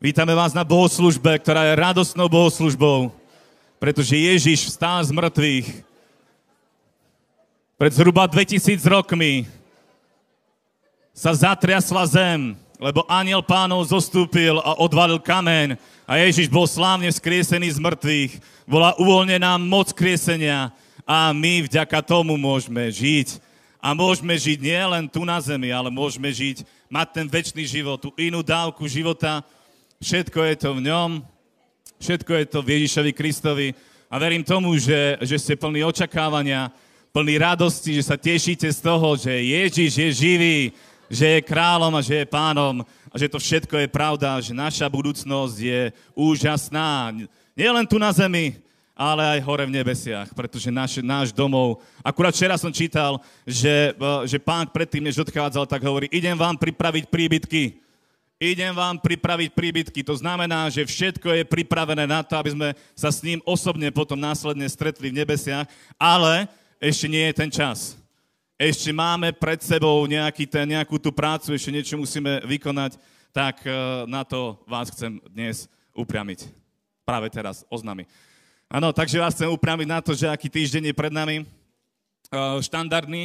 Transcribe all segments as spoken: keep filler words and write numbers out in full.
Vítame vás na bohoslužbe, ktorá je radostnou bohoslužbou, pretože Ježiš vstal z mŕtvych pred zhruba dvetisíc rokmi. Sa zatriasla zem, lebo anjel Pánov zostúpil a odvalil kameň a Ježiš bol slávne vzkriesený z mŕtvych. Bola uvoľnená moc kriesenia a my vďaka tomu môžeme žiť. A môžeme žiť nie len tu na zemi, ale môžeme žiť, mať ten večný život, tú inú dávku života. Všetko je to v ňom, všetko je to v Ježišovi Kristovi a verím tomu, že, že ste plní očakávania, plní radosti, že sa tešíte z toho, že Ježiš je živý, že je kráľom a že je pánom a že to všetko je pravda, že naša budúcnosť je úžasná. Nie len tu na zemi, ale aj hore v nebesiach, pretože náš, náš domov... Akurát včera som čítal, že, že pán predtým, než odchádzal, tak hovorí, idem vám pripraviť príbytky. Idem vám pripraviť príbytky. To znamená, že všetko je pripravené na to, aby sme sa s ním osobne potom následne stretli v nebesiach, ale ešte nie je ten čas. Ešte máme pred sebou nejaký ten, nejakú tú prácu, ešte niečo musíme vykonať, tak na to vás chcem dnes upriamiť. Práve teraz oznámiť. Áno, takže vás chcem upriamiť na to, že aký týždeň je pred nami. Štandardný.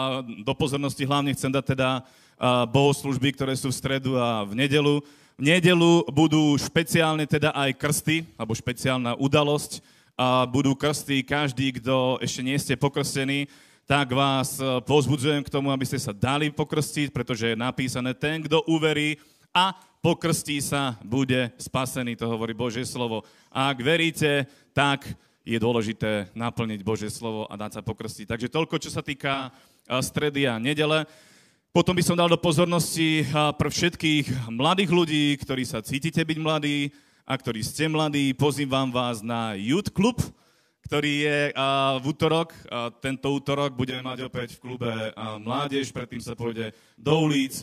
Do pozornosti hlavne chcem dať teda bohoslužby, ktoré sú v stredu a v nedelu. V nedelu budú špeciálne teda aj krsty, alebo špeciálna udalosť. A budú krsty, každý, kto ešte nie ste pokrstení, tak vás povzbudzujem k tomu, aby ste sa dali pokrstiť, pretože je napísané, ten, kto uverí a pokrstí sa, bude spasený, to hovorí Božie slovo. A ak veríte, tak je dôležité naplniť Božie slovo a dať sa pokrstiť. Takže toľko, čo sa týka stredy a nedele. Potom by som dal do pozornosti pre všetkých mladých ľudí, ktorí sa cítite byť mladí a ktorí ste mladí. Pozývam vás na Youth Club, ktorý je v útorok. Tento útorok budeme mať opäť v klube mládež, predtým sa pôjde do ulic.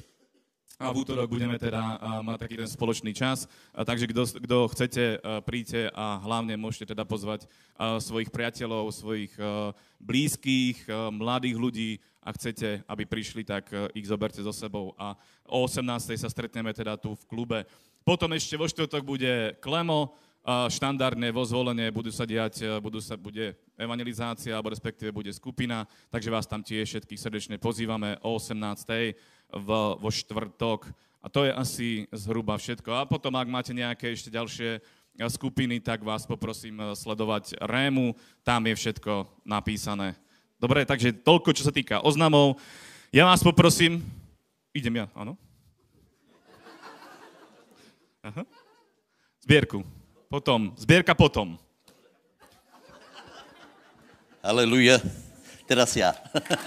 A v útorok budeme teda mať taký ten spoločný čas. Takže kto chcete, príďte a hlavne môžete teda pozvať svojich priateľov, svojich blízkych, mladých ľudí. Ak chcete, aby prišli, tak ich zoberte so sebou. A o osemnástej sa stretneme teda tu v klube. Potom ešte vo štvrtok bude Klemo, štandardne vo zvolenie budú sa diať, budú sa, bude evangelizácia, alebo respektíve bude skupina. Takže vás tam tiež všetkých srdečne pozývame o osemnástej vo, vo štvrtok. A to je asi zhruba všetko. A potom, ak máte nejaké ešte ďalšie skupiny, tak vás poprosím sledovať Rému. Tam je všetko napísané. Dobre, takže toľko, čo sa týka oznamov. Ja vás poprosím... Idem ja, áno? Aha. Zbierku. Potom. Zbierka potom. Aleluja. Teraz ja.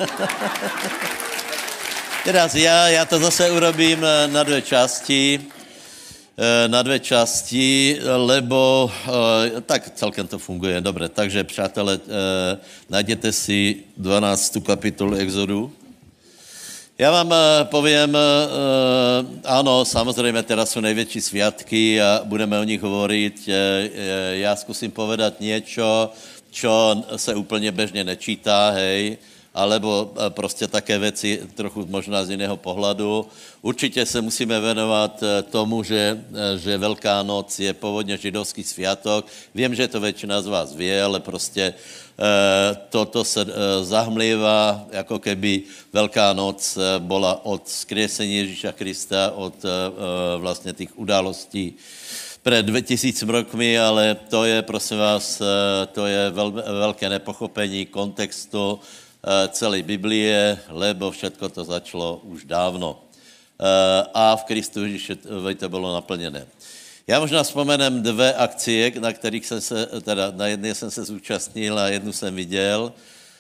Teraz ja, ja to zase urobím na dve časti. Na dve časti, lebo tak celkem to funguje. Dobre, takže přátelé, najděte si dvanáctou kapitolu Exodu. Já vám poviem, áno, samozrejme, teraz sú největší sviatky a budeme o nich hovoriť. Já zkusím povedať niečo, čo se úplně bežně nečítá, hej, alebo prostě také věci trochu možná z jiného pohledu. Určitě se musíme věnovat tomu, že, že Velká noc je původně židovský sviatok. Vím, že to většina z vás ví, ale prostě toto se zahmlívá, jako keby Velká noc byla od vzkriesení Ježíša Krista, od vlastně těch událostí před dvetisíc rokmi, ale to je, prosím vás, to je vel, velké nepochopení kontextu celé Biblie, lebo všetko to začalo už dávno. A v Kristu Ježíši to bylo naplněné. Já možná vzpomenem dvě akcie, na kterých jsem se, teda na jedné jsem se zúčastnil a jednu jsem viděl.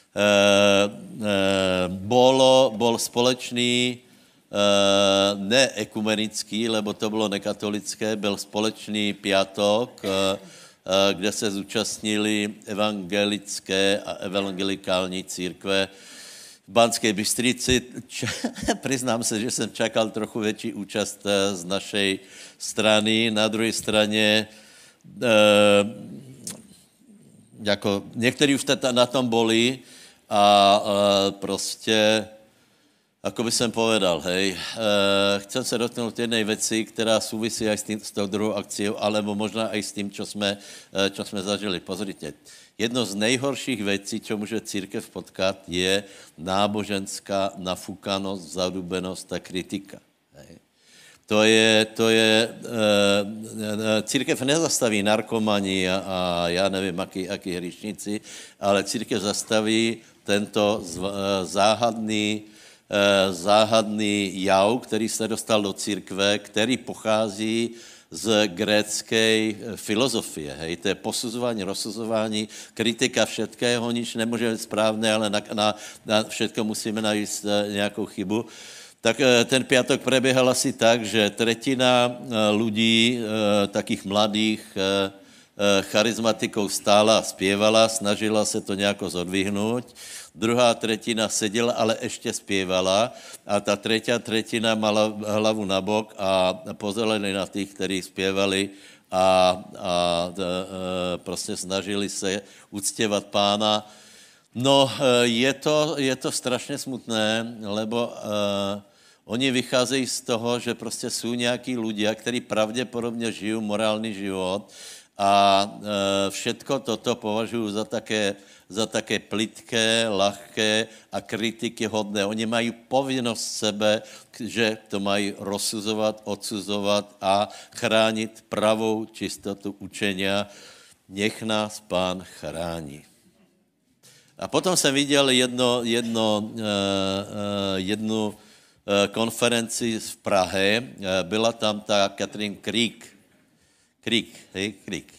Bolo, bol společný, ne ekumenický, lebo to bylo nekatolické, byl společný piatok, kde se zúčastnili evangelické a evangelikální církve v Banskej Bystrici. Priznám se, že jsem čakal trochu větší účast z našej strany. Na druhé straně jako někteří už na tom boli a prostě ako by som povedal, hej, e, chcem sa dotknúť jednej veci, ktorá súvisí aj s, tým, s tou druhou akciou, alebo možná aj s tým, čo sme, e, čo sme zažili. Pozrite, jedno z nejhorších vecí, čo môže církev potkat, je náboženská nafúkanosť, zadúbenosť a kritika. Hej. To je, to je, e, církev nezastaví narkomani a, a ja neviem, akí, akí hrišníci, ale církev zastaví tento z, e, záhadný záhadný jav, který se dostal do církve, který pochází z grécké filozofie. Hej, to je posuzování, rozsuzování, kritika všetkého, nič nemůže být správné, ale na, na, na všetko musíme najít nějakou chybu. Tak ten piatok preběhal asi tak, že tretina ľudí, takých mladých charizmatikov stála a zpěvala, snažila se to nějako zodvihnout. Druhá tretina seděla, ale ještě zpěvala a ta třetí tretina mala hlavu na bok a pozerali na těch, kteří zpěvali a, a, a prostě snažili se uctěvat Pána. No, je to, je to strašně smutné, lebo uh, oni vycházejí z toho, že prostě jsou nějaký ľudia, kteří pravděpodobně žijí morální život a uh, všetko toto považují za také za také plitké, ľahké a kritiky hodné. Oni mají povinnosť sebe, že to mají rozsuzovat, odsuzovat a chránit pravou čistotu učenia. Nech nás Pán chrání. A potom jsem viděl jedno, jedno, jednu konferenci v Prahe. Byla tam ta Katrin Krík. Krík, hej, Krík.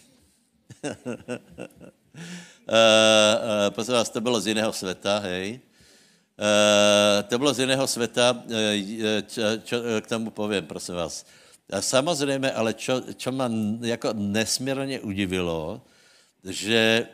Uh, uh, prosím vás, to bylo z jiného světa, hej. Uh, to bylo z jiného světa, uh, čo, čo k tomu povím, prosím vás. A samozřejmě, ale čo, čo ma jako nesmírně udivilo, že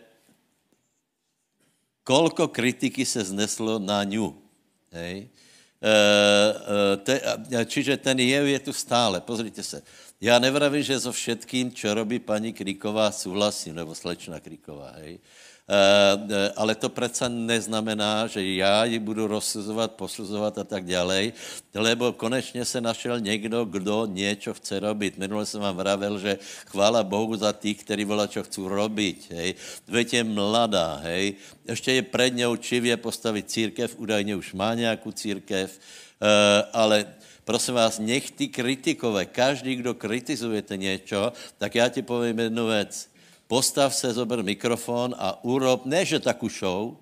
kolko kritiky se zneslo na ňu, hej. Uh, uh, te, čiže ten jev je tu stále, pozrite se. Já nevravím, že so všetkým, čo robí paní Kríková, souhlasím, nebo slečna Kríková, hej. Uh, ale to přece neznamená, že já ji budu rozsuzovat, posuzovat a tak ďalej, lebo konečně se našel někdo, kdo něco chce robit. Minule jsem vám vravel, že chvála Bohu za tých, kteří volá, čo chcú robiť, hej. Veď je mladá, hej. Ještě je před ňou čivě postavit církev, údajně už má nějakou církev, uh, ale prosím vás, nech ty kritikové, každý, kdo kritizujete něco, tak já ti povím jednu věc. Postav se, zober mikrofon a urob, ne že takú show, uh,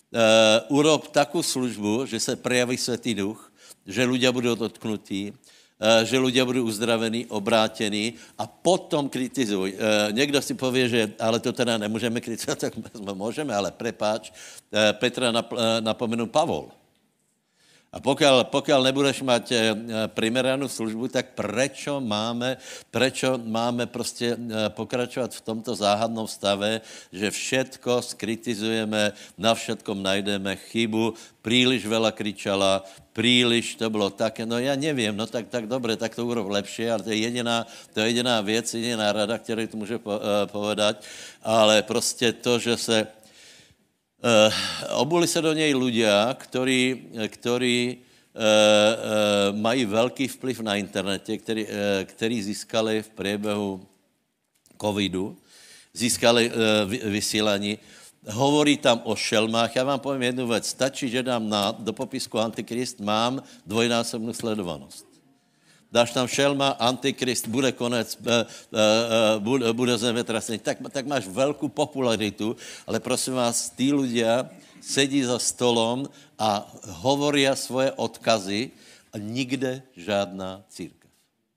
urob takú službu, že se prejaví Svätý Duch, že ľudia budou dotknutí, uh, že ľudia budou uzdravení, obrátení a potom kritizuj. Uh, někdo si povie, že ale to teda nemůžeme kritizovat, tak můžeme, ale prepáč, uh, Petra nap, uh, napomenul Pavol. A pokiaľ, pokiaľ nebudeš mať primeranú službu, tak prečo máme, prečo máme prostě pokračovať v tomto záhadnom stave, že všetko skritizujeme, na všetkom najdeme chybu, príliš veľa kričala, príliš to bylo také, no ja neviem, no tak, tak dobre, tak to urob lepšie, ale to je jediná, to je jediná věc, jediná rada, kterou tu může povedať, ale prostě to, že se Uh, obuli se do něj ľudia, ktorí, ktorí uh, uh, mají velký vplyv na internete, který, uh, který získali v priebehu covidu, získali uh, vysílání. Hovorí tam o šelmách. Já vám povím jednu věc. Stačí, že dám na, do popisku Antikrist, mám dvojnásobnou sledovanost. Dáš tam šelma, Antikrist, bude konec, uh, uh, bude, bude zemetrasení, tak, tak máš velkou popularitu, ale prosím vás, tí ľudia sedí za stolom a hovoria svoje odkazy a nikde žádná církev.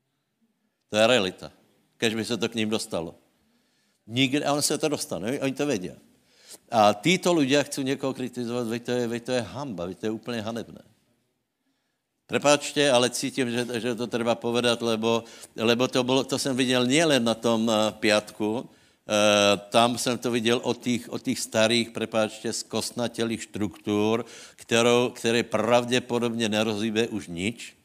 To je realita. Kež by se to k ním dostalo. Nikde, a on se to dostane, oni to vedia. A títo ľudia chcú někoho kritizovat, veď to je, veď to je hamba, veď to je úplně hanebné. Prepáčte, ale cítím, že, že to treba povedať, lebo, lebo to, bolo, to jsem viděl nielen na tom uh, piatku, uh, tam jsem to viděl od tých, od tých starých, prepáčte, skostnatelých štruktúr, kterou, které pravděpodobně nerozhýbe už nič.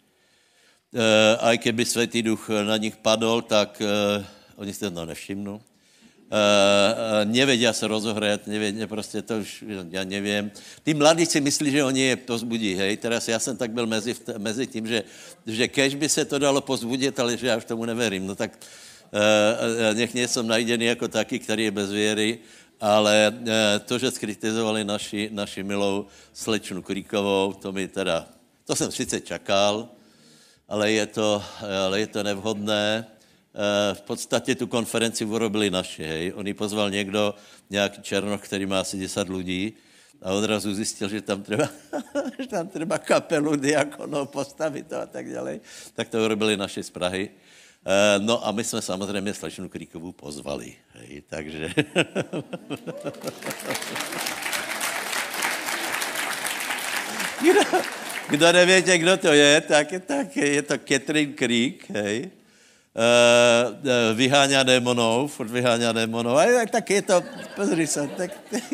Uh, aj keby Svätý Duch na nich padol, tak uh, oni si to nevšimnú. Uh, nevedia sa rozohrať, nevedia, proste to už, ja neviem. Tí mladí si myslí, že oni je pozbudí, hej. Teraz ja som tak byl mezi, mezi tým, že, že kež by se to dalo pozbudit, ale že ja už tomu neverím. No tak uh, nech nie som najdený ako taký, ktorý je bez viery, ale uh, to, že skritizovali naši, naši milou slečnu Kríkovou, to mi teda, to som sice čakal, ale je to, ale je to nevhodné. V podstatě tu konferenci urobili naši, hej. On ji pozval někdo, nějaký Černoch, který má asi deset lidí a odrazu zjistil, že tam treba, že tam treba kapelu diakonov postavit a tak ďalej. Tak to urobili naši z Prahy. No a my jsme samozřejmě slečnu Kríkovou pozvali, hej. Takže... kdo, kdo nevíte, kdo to je, tak, tak je to Catherine Krík, hej. Uh, uh, vyháňa démonov, furt vyháňa démonov. A tak je to, pozri sa, tak...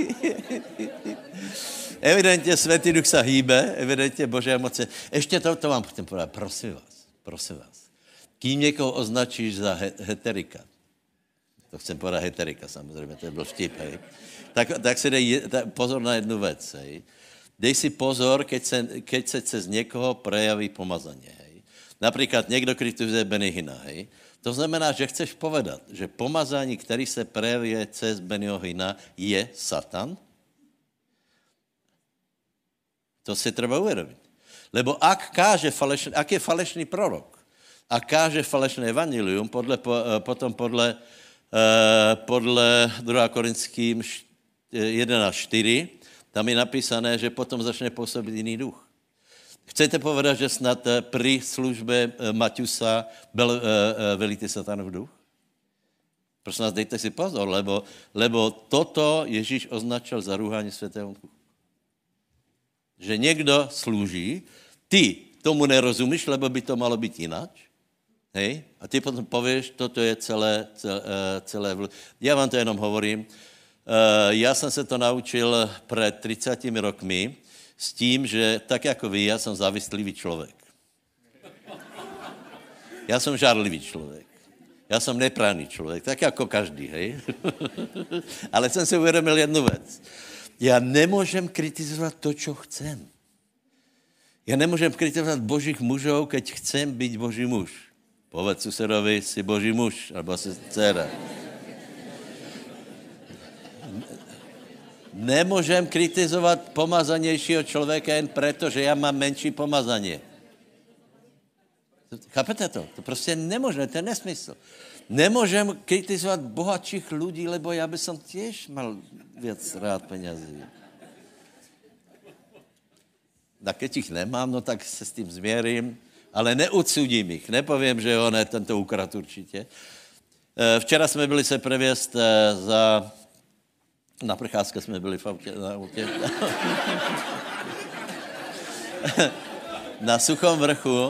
Evidentně Svätý Duch sa hýbe, evidentně Božia moce. Ještě to, to vám chcem povedať, prosím vás, prosím vás. Kým někoho označíš za he, heterika, to chcem povedať heterika, samozřejmě, to je byl vtip, hej, tak, tak si dej tak pozor na jednu vec, hej. Dej si pozor, keď se, keď se cez někoho prejaví pomazanie, hej. Napríklad niekto kritizuje Benny Hina, hej. To znamená, že chceš povedať, že pomazání, který se prejavuje cez Bennyho Hina, je Satan? To si treba uvedomiť. Lebo ak káže falešný, ak je falešný prorok a káže falešné evangelium, podle, potom podle, podle druhá Korinským jedenásť štyri, tam je napísané, že potom začne pôsobiť iný duch. Chcete povedať, že snad pri službe Maťusa byl velitý Satanov duch? Prosím vás, dejte si pozor, lebo, lebo toto Ježíš označil za rúhanie Svätého Ducha. Že niekto slúží, ty tomu nerozumíš, lebo by to malo byť ináč, hej? A ty potom povieš, toto je celé, celé, celé... Ja vám to jenom hovorím. Ja som sa to naučil pred tridsiatimi rokmi, s tím, že tak jako vy, já jsem závislivý člověk. Já jsem žárlivý člověk. Já jsem nepráný člověk, tak jako každý, hej. Ale jsem si uvědomil jednu věc. Já nemůžem kritizovat to, čo chcem. Já nemůžem kritizovat božích mužov, keď chcem být boží muž. Povedz susedovi, si boží muž, alebo si dcera. Nemôžem kritizovať pomazanějšího člověka jen preto, že ja mám menší pomazanie. Chápete to? To prostě nemôžem, to je nesmysl. Nemôžem kritizovať bohatších ľudí, lebo ja by som tiež mal viac rád peňazí. A keď ich nemám, no tak se s tým zmierím, ale neudsudím ich. Nepoviem, že on je tento ukrad určitě. Včera jsme byli se previesť za... Na precházce jsme byli v autě, na autě. Na Suchom vrchu.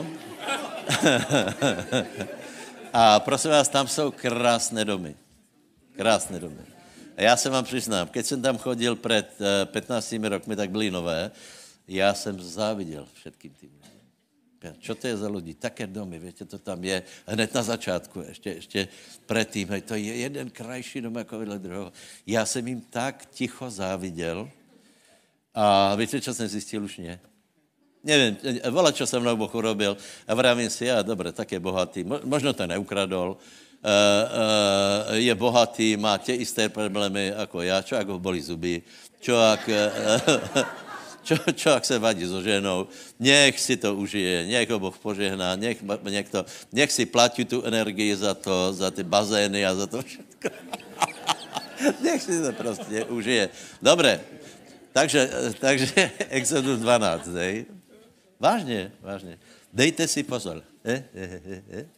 A prosím vás, tam jsou krásné domy. Krásné domy. A já se vám přiznám, keď jsem tam chodil před pätnástimi rokmi, tak byly nové, já jsem záviděl všetkým tým. Čo to je za ľudí? Také domy, viete, to tam je hned na začátku, ešte, ešte predtým, hej, to je jeden krajší dom ako vedle druhého. Ja jsem jim tak ticho záviděl a viete, čo jsem zjistil? Už nie. Neviem, volá, čo sa mnou Boh urobil a vravím si, ja, dobre, tak je bohatý, možno to neukradol, uh, uh, je bohatý, má tie isté problémy ako ja, čo ak ho boli zuby, čo ak... Uh, Čo, čo ak se vadí so ženou, nech si to užije, nech ho Boh požehná, nech, nech, to, nech si platí tu energii za to, za ty bazény a za to všetko. Nech si to prostě užije. Dobre, takže, takže Exodus dvanásť, hej. Vážně, vážně. Dejte si pozor. Eh, eh, eh, eh.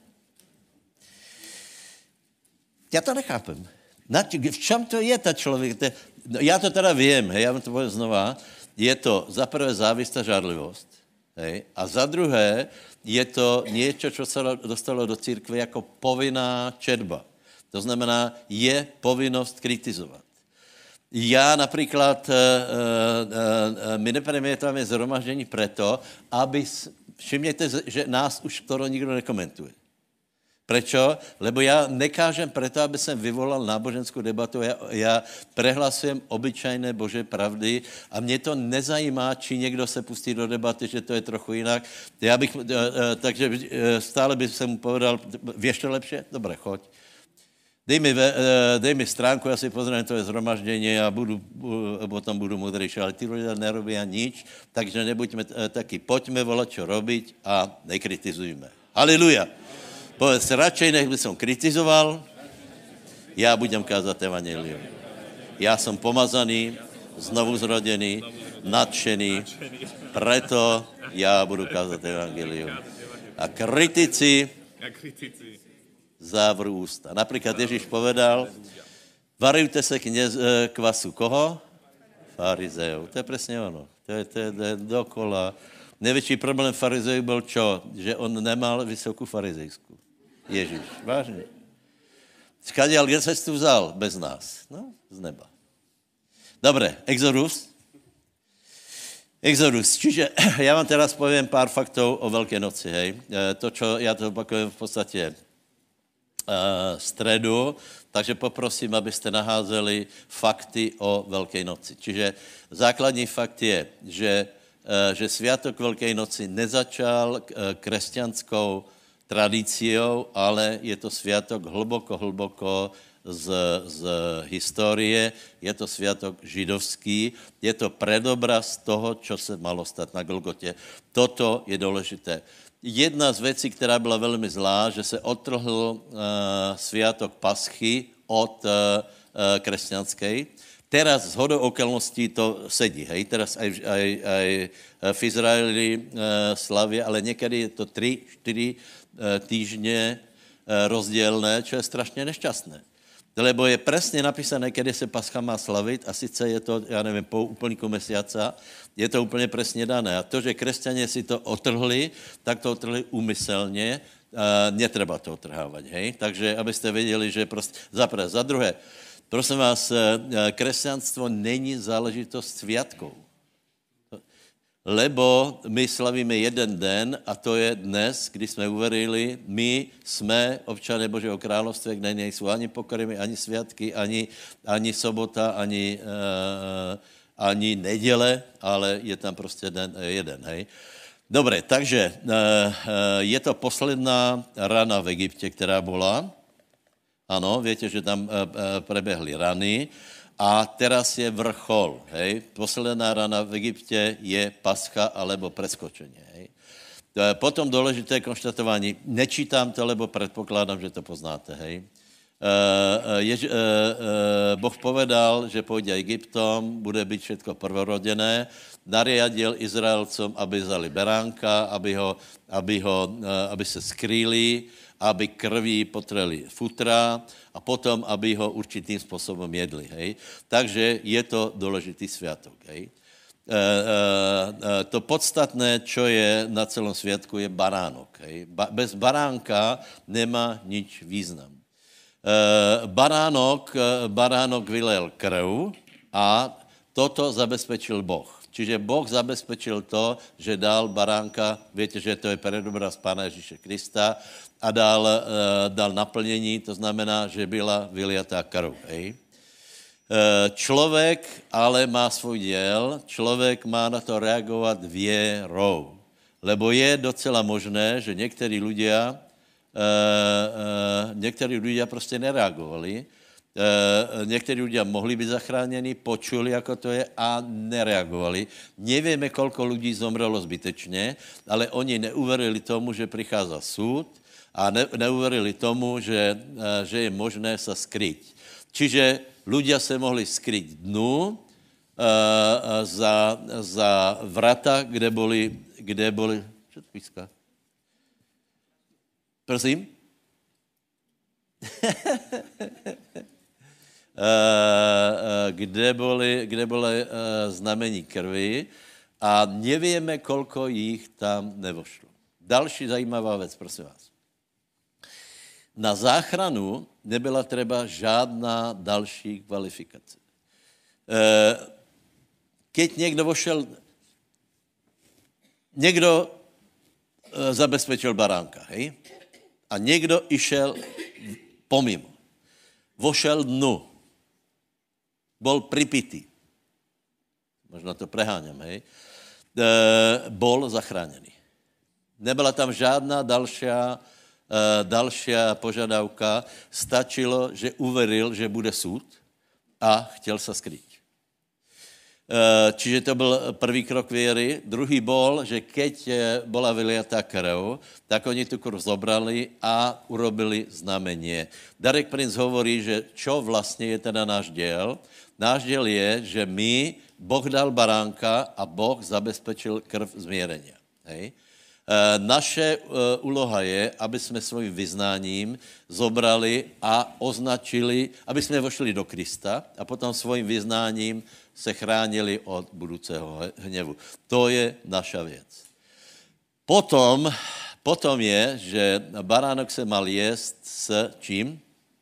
Já to nechápem. V čem to je ta člověk? No, já to teda vím, hej, já vám to poviem znova. Je to za prvé závist a žárlivosť, hej, a za druhé je to niečo, čo sa dostalo do církve jako povinná četba. To znamená, je povinnosť kritizovať. Ja napríklad, uh, uh, uh, my nepremietame zhromaždení preto, aby, všimněte, že nás už skoro nikdo nekomentuje. Prečo? Lebo ja nekážem preto, aby som vyvolal náboženskú debatu. Ja, ja prehlasujem obyčajné Božie pravdy a mne to nezajímá, či niekto se pustí do debaty, že to je trochu jinak. Ja bych, takže stále by som mu povedal, vieš to lepšie? Dobre, choď. Dej mi, dej mi stránku, ja si pozriem to je zhromaždenie a budu, potom budu múdrejší, ale tí ľudia nerobia nič, takže nebuďme takí, poďme volať, čo robiť a nekritizujme. Halleluja. Povedz, radšej nech by som kritizoval, ja budem kázať evanjelium. Ja som pomazaný, znovu zrodený, nadšený, preto ja budu kázať evanjelium. A kritici závrú ústa. Napríklad Ježíš povedal, varujte sa kněz, kvasu koho? Farizejov. To je presne ono. To je, to je, to je dokola. Největší problém farizejů byl čo? Že on nemal vysokou farizejskou. Ježíš, vážne. Skadiaľ, kde sa tu vzal? Bez nás. No, z neba. Dobre, Exodus. Exodus. Čiže ja vám teraz poviem pár faktov o Veľkej noci, hej. To, čo ja to opakujem v podstate uh, stredu, takže poprosím, aby ste naházeli fakty o Veľkej noci. Čiže základní fakt je, že, uh, že Sviatok Veľkej noci nezačal uh, kresťanskou tradíciou, ale je to sviatok hlboko, hlboko z, z histórie, je to sviatok židovský, je to predobraz toho, čo sa malo stať na Golgote. Toto je dôležité. Jedna z vecí, ktorá byla veľmi zlá, že sa odtrhl uh, sviatok Paschy od uh, uh, kresťanskej. Teraz z hodou okolností to sedí, hej, teraz aj, aj, aj v Izraeli uh, slavia, ale niekedy je to tri, štyri týždne rozdielne, čo je strašne nešťastné. Lebo je presne napísané, kedy sa Pascha má slaviť a sice je to, ja neviem, po úplníku mesiaca, je to úplne presne dané. A to, že kresťania si to otrhli, tak to otrhli úmyselne, netreba to otrhávať, hej. Takže, aby ste vedeli, že proste, za prvé, za druhé, prosím vás, kresťanstvo není záležitosť sviatkov. Lebo my slavíme jeden den a to je dnes, kdy jsme uverili, my jsme občané Božího království, kde nejsou ani pokrmy, ani sviatky, ani, ani sobota, ani, uh, ani neděle, ale je tam prostě den, jeden, hej. Dobre, takže uh, uh, je to posledná rana v Egypte, která byla. Ano, viete, že tam uh, uh, prebehli rany. A teraz je vrchol, hej. Posledná rana v Egypte je Pascha alebo preskočenie, hej. Potom dôležité konštatovanie, nečítam to, lebo predpokladám, že to poznáte, hej. Uh, Jež, uh, uh, Boh povedal, že pôjde Egyptom, bude byť všetko prvorodené, nariadil Izraelcom, aby vzali beránka, aby, ho, aby, ho, uh, aby sa skrýli, aby krví potreli futra a potom, aby ho určitým spôsobom jedli, hej. Takže je to dôležitý sviatok, hej. E, e, e, to podstatné, čo je na celom sviatku, je baránok, hej. Ba, bez baránka nemá nič význam. E, baránok, baránok vylel krv a toto zabezpečil Boh. Čiže Boh zabezpečil to, že dal baránka, viete, že to je predobraz Pána Ježíše Krista, a dal, uh, dal naplnení, to znamená, že byla vyliatá krv. Hej. Uh, človek ale má svoj diel, človek má na to reagovať vierou. Lebo je docela možné, že niektorí ľudia, uh, uh, niektorí ľudia proste nereagovali. Uh, niektorí ľudia mohli byť zachránení, počuli, ako to je a nereagovali. Nevieme, koľko ľudí zomrelo zbytečne, ale oni neuverili tomu, že prichádza súd, a ne, neuverili tomu, že, že je možné sa skryť. Čiže ľudia sa mohli skryť dnu uh, za, za vrata, kde boli, kde boli... Čo to píska? Prosím? uh, kde boli, kde boli uh, znamení krvi a nevieme, koľko ich tam nevošlo. Další zajímavá vec, prosím vás. Na záchranu nebyla treba žádná další kvalifikace. Keď niekto vošel, niekto zabezpečil baránka, hej? a někdo išel pomimo. Vošel dnu. Bol pripitý. Možno to preháňam, hej. E, bol zachránený. Nebyla tam žádná dalšia, e, dalšia požadavka. Stačilo, že uveril, že bude súd a chtěl sa skryť. E, čiže to byl prvý krok viery. Druhý bol, že keď bola vyliatá krv, tak oni tu krv zobrali a urobili znamenie. Darek Princ hovorí, že čo vlastne je teda náš diel. Náš diel je, že my, Boh dal baránka a Boh zabezpečil krv zmierenia. Hej. E, naše e, úloha je, aby sme svojím vyznáním zobrali a označili, aby sme vošli do Krista a potom svojím vyznáním se chránili od budúceho hnevu. To je naša věc. Potom, potom je, že baránok se mal jesť s čím?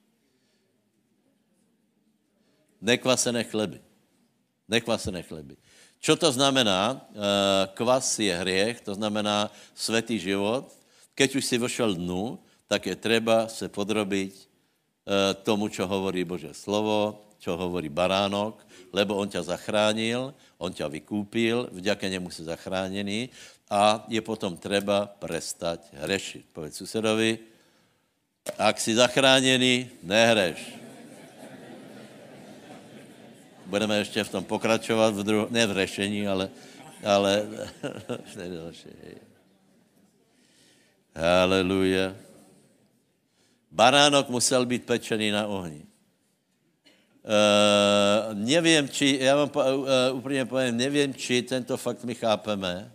Nekvasené chleby. Nekvasené chleby. Čo to znamená? Kvas je hriech, to znamená svätý život. Keď už si vošel dnu, tak je treba se podrobiť tomu, čo hovorí Božie slovo, čo hovorí baránok, lebo on ťa zachránil, on ťa vykúpil, vďaka nemu si zachránený a je potom treba prestať hrešiť. Povedz susedovi, ak si zachránený, nehreš. Budeme ještě v tom pokračovat, v dru- ne v řešení, ale... ale Haleluja. Baránok musel být pečený na ohni. Uh, nevím, či, já vám uh, úplně povím, nevím, či tento fakt my chápeme, uh,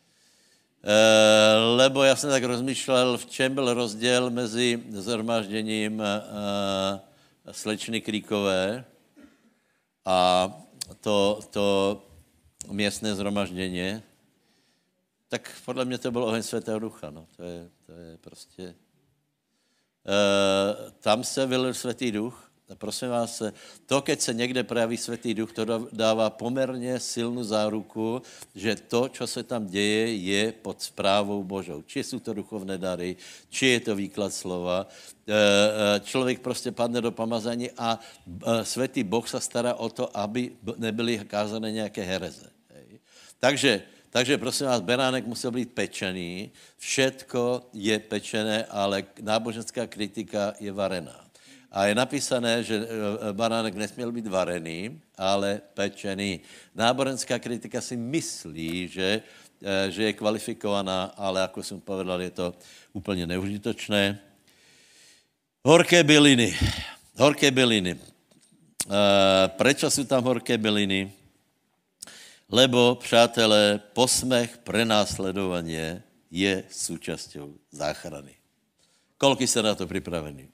lebo já jsem tak rozmýšlel, v čem byl rozdíl mezi zhromážděním uh, slečny Kríkové a to, to miestné zhromaždění, tak podle mě to byl oheň Svätého Ducha. No. To, je, to je prostě... E, tam se vylil Svätý Duch. A prosím vás, to, keď se někde prejaví Svätý Duch, to dává poměrně silnou záruku, že to, co se tam děje, je pod správou Božou. Či jsou to duchovné dary, či je to výklad slova. Člověk prostě padne do pomazání a Svätý Boh se stará o to, aby nebyly kázané nějaké hereze. Takže, takže prosím vás, beránek musel být pečený, všetko je pečené, ale náboženská kritika je varená. A je napísané, že baránek nesměl být varený, ale pečený. Náboženská kritika si myslí, že, že je kvalifikovaná, ale jako jsem povedal, je to úplně neužitočné. Horké byliny. Horké byliny. Prečo jsou tam horké byliny? Lebo, přátelé, posmech, prenásledovanie je súčasťou záchrany. Koľko ste na to pripravení?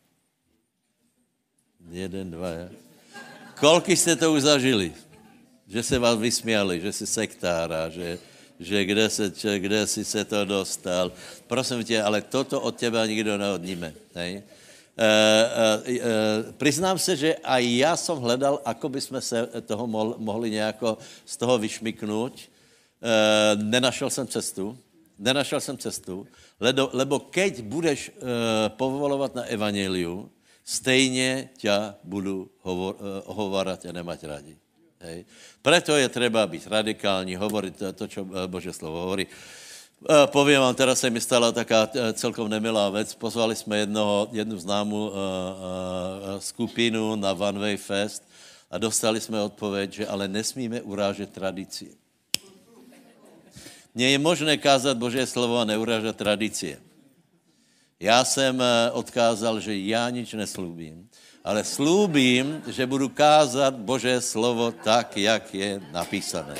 Jeden, dva, ja. Koľko ste to už zažili? Že se vás vysmiali, že si sektára, že, že kde, se, kde si se to dostal. Prosím tě, ale toto od teba nikdo neodníme. Hej? E, e, e, priznám se, že aj ja som hledal, ako by sme se toho mohli nejako z toho vyšmyknúť. E, nenašel jsem cestu. Nenašel jsem cestu, lebo, lebo keď budeš e, povolovat na evangeliu, stejně ťa budu hovor, ohovárať a nemať rádi. Hej. Preto je treba být radikální, hovoriť to, to, čo Božie slovo hovorí. Poviem vám, teraz se mi stala taká celkom nemilá vec. Pozvali jsme jednoho, jednu známou uh, uh, skupinu na One Way Fest a dostali jsme odpověď, že ale nesmíme urážet tradície. Nie je možné kázat Božie slovo a neurážet tradície. Já jsem odkázal, že já nič neslúbím, ale slúbím, že budu kázat Božie slovo tak, jak je napísané.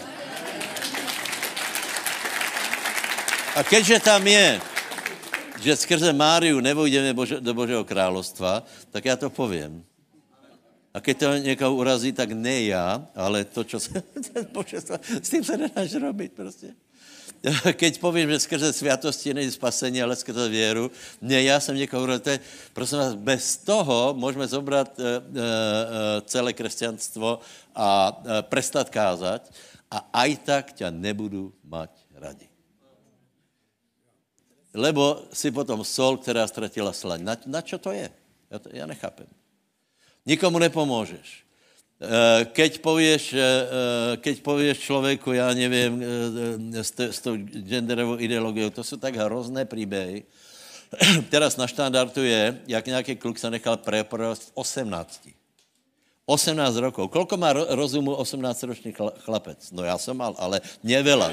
A keďže tam je, že skrze Máriu nevojdeme Bože, do Božího královstva, tak já to povím. A keď to někoho urazí, tak ne já, ale to, čo se... S tím se nedáš robiť prostě. Keď povím, že skrze sviatosti není spasení, ale skrze věru, ne, já jsem někoho urazil. Prosím vás, bez toho můžeme zobrat e, e, celé křesťanstvo a e, prestat kázať a aj tak ťa nebudu mať radi. lebo si potom sol, která ztratila slaň. Na, na čo to je? Ja, to, ja nechápem. Nikomu nepomôžeš. Keď povieš, keď povieš človeku, ja neviem, s, t- s tou genderovou ideológiou, to sú tak hrozné príbehy. Teraz na štandardu je, jak nejaký kluk sa nechal preporovať v osemnácti. osemnásť rokov. Koľko má ro- rozumu osemnásťročný chlapec? No ja som mal, ale neveľa.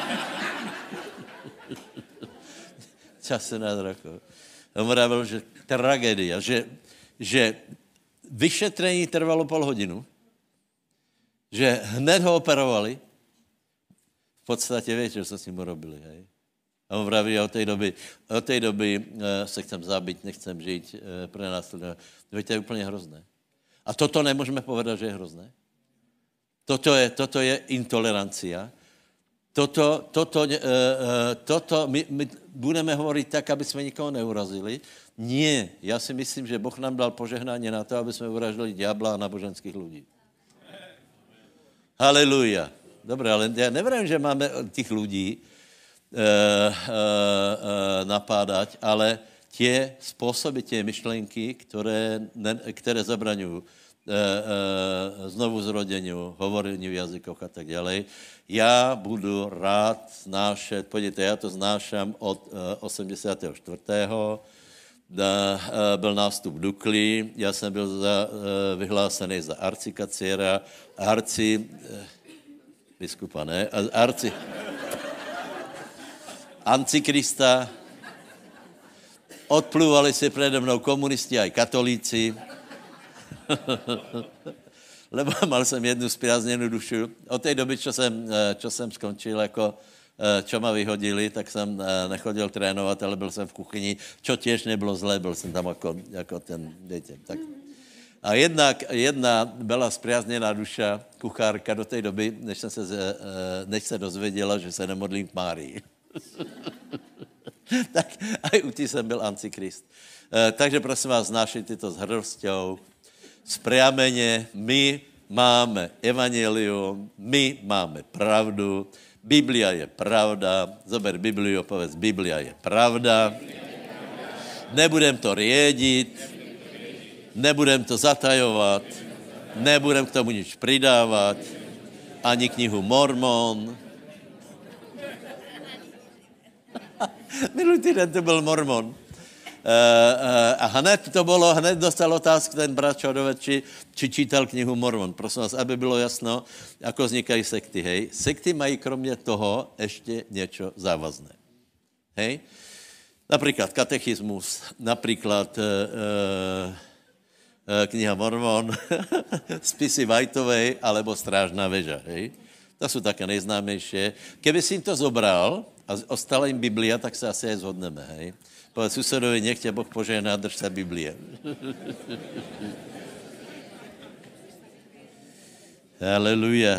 osemnásť rokov. On vravil, že tragédia, že, že vyšetrení trvalo pol hodinu, že hned ho operovali. V podstate viete, čo sa s ním urobili, hej? A on vraví, od tej doby, od tej doby e, sa chcem zabiť, nechcem žiť, e, pre nás. Viete, to je úplne hrozné. A toto nemôžeme povedať, že je hrozné. Toto je, toto je intolerancia. Toto, toto, e, e, toto my, my budeme hovoriť tak, aby sme nikoho neurazili. Nie, ja si myslím, že Boh nám dal požehnanie na to, aby sme uražili diabla a náboženských ľudí. Halelúja. Dobre, ale ja neviem, že máme tých ľudí e, e, e, napádať, ale tie spôsoby, tie myšlenky, ktoré, ne, ktoré zabraňujú e, e, znovu zrodeniu, hovoreniu v jazykoch a tak ďalej, ja budu rád znášať, pojďte, ja to znášam od e, osemdesiateho štvrtého Da, e, byl nástup Dukly, já jsem byl za, e, vyhlásený za arcikacíra, arci, e, biskupa, ne? Arci, Antikrista, odplúvali si prede mnou komunisti aj katolíci, lebo mal jsem jednu spriazněnou dušu. Od té doby, čo jsem, čo jsem skončil jako čo ma vyhodili, tak jsem nechodil trénovat, ale byl jsem v kuchyni, čo tiež nebylo zlé, byl jsem tam jako, jako ten, viete, tak. A jedna, jedna byla spriaznená duša, kuchárka do té doby, než, jsem se, než se dozvěděla, že se nemodlím k Márii. Tak aj u tí jsem byl antikrist. Takže prosím vás, znášejte to s hrdosťou, spriamene, my máme evangelium, my máme pravdu, Biblia je pravda, zober Bibliu, povedz, Biblia je pravda, nebudem to riediť, nebudem to zatajovať, nebudem k tomu nič pridávať, ani knihu Mormon. Minulý týden to byl Mormon. Uh, uh, a hned to bylo, hned dostal otázku ten brat Čodovec, či, či čítal knihu Mormon. Prosím vás, aby bylo jasno, ako vznikají sekty, hej. Sekty mají kromě toho ještě něco závazné. Hej. Například katechismus, například uh, uh, kniha Mormon, spisy Whiteovej, alebo Strážná veža, hej. To jsou také nejznámější. Keby si jim to zobral a ostala jim Biblia, tak se asi aj zhodneme, hej. Povedz susedovi, nech tě Boh požehná, drž se Biblie. Haleluja.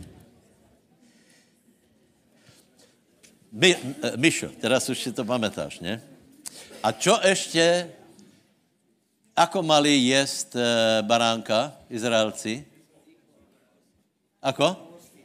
My, Mišo, teraz už si to pamätáš, ne? A čo ešte, ako mali jesť e, baránka Izraelci? Ako?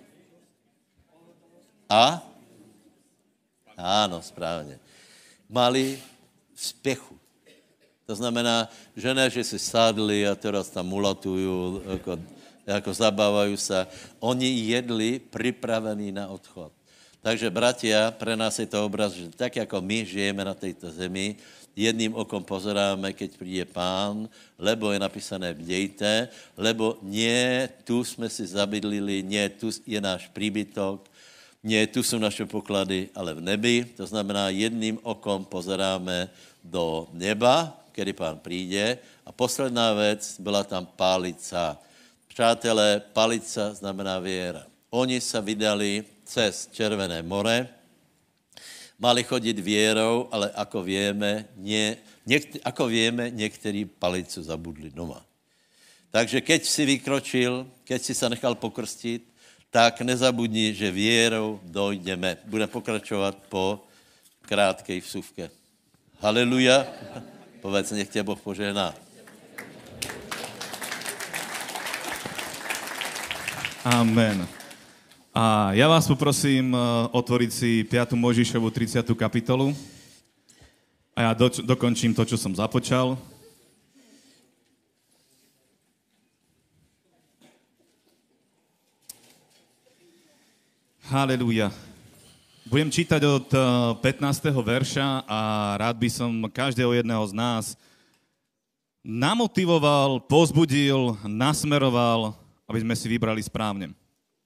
A? Áno, správne. Mali spěchu. To znamená, že ne, že si sádli a teraz tam mulatujú, ako, ako zabávajú sa. Oni jedli pripravení na odchod. Takže, bratia, pre nás je to obraz, že tak, ako my žijeme na tejto zemi, jedným okom pozeráme, keď príde Pán, lebo je napísané bdejte, lebo nie tu sme si zabydlili, nie tu je náš príbytok, nie, tu sú naše poklady, ale v nebi. To znamená, jedným okom pozeráme do neba, kedy Pán príde. A posledná vec, byla tam palica. Přátelé, palica znamená viera. Oni sa vydali cez Červené more, mali chodiť vierou, ale ako vieme, nie, niekt, ako vieme, niektorí palicu zabudli doma. Takže keď si vykročil, keď si sa nechal pokrstiť, tak nezabudni, že vierou dojdeme. Budeme pokračovat po krátkej vsuvke. Haleluja. Povedz, nech tě Boh požehná. Amen. A ja vás poprosím otvoriť si piatu Mojžišovu tridsiatu kapitolu. A ja do, dokončím to, čo som započal. Halelúja. Budem čítať od pätnásteho verša a rád by som každého jedného z nás namotivoval, povzbudil, nasmeroval, aby sme si vybrali správne.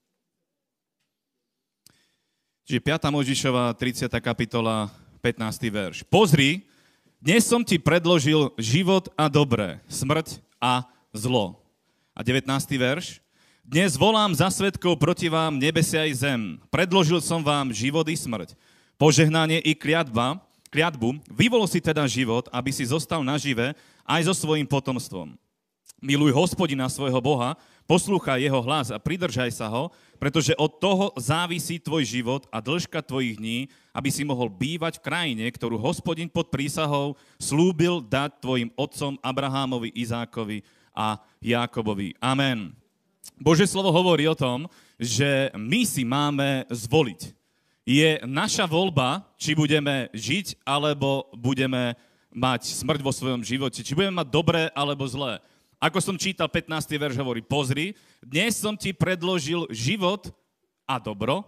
Čiže piata Mojžišova, tridsiata kapitola, pätnásty verš. Pozri, dnes som ti predložil život a dobré, smrť a zlo. A devätnásty verš. Dnes volám za svedkov proti vám nebesia i zem. Predložil som vám život i smrť, požehnanie i kliatba, kliatbu. Vyvol si teda život, aby si zostal nažive aj so svojím potomstvom. Miluj Hospodina svojho Boha, poslúchaj jeho hlas a pridržaj sa ho, pretože od toho závisí tvoj život a dĺžka tvojich dní, aby si mohol bývať v krajine, ktorú Hospodin pod prísahou slúbil dať tvojim otcom Abrahámovi, Izákovi a Jákobovi. Amen. Božie slovo hovorí o tom, že my si máme zvoliť. Je naša voľba, či budeme žiť, alebo budeme mať smrť vo svojom živote, či budeme mať dobré alebo zlé. Ako som čítal, pätnásty verš hovorí, pozri, dnes som ti predložil život a dobro,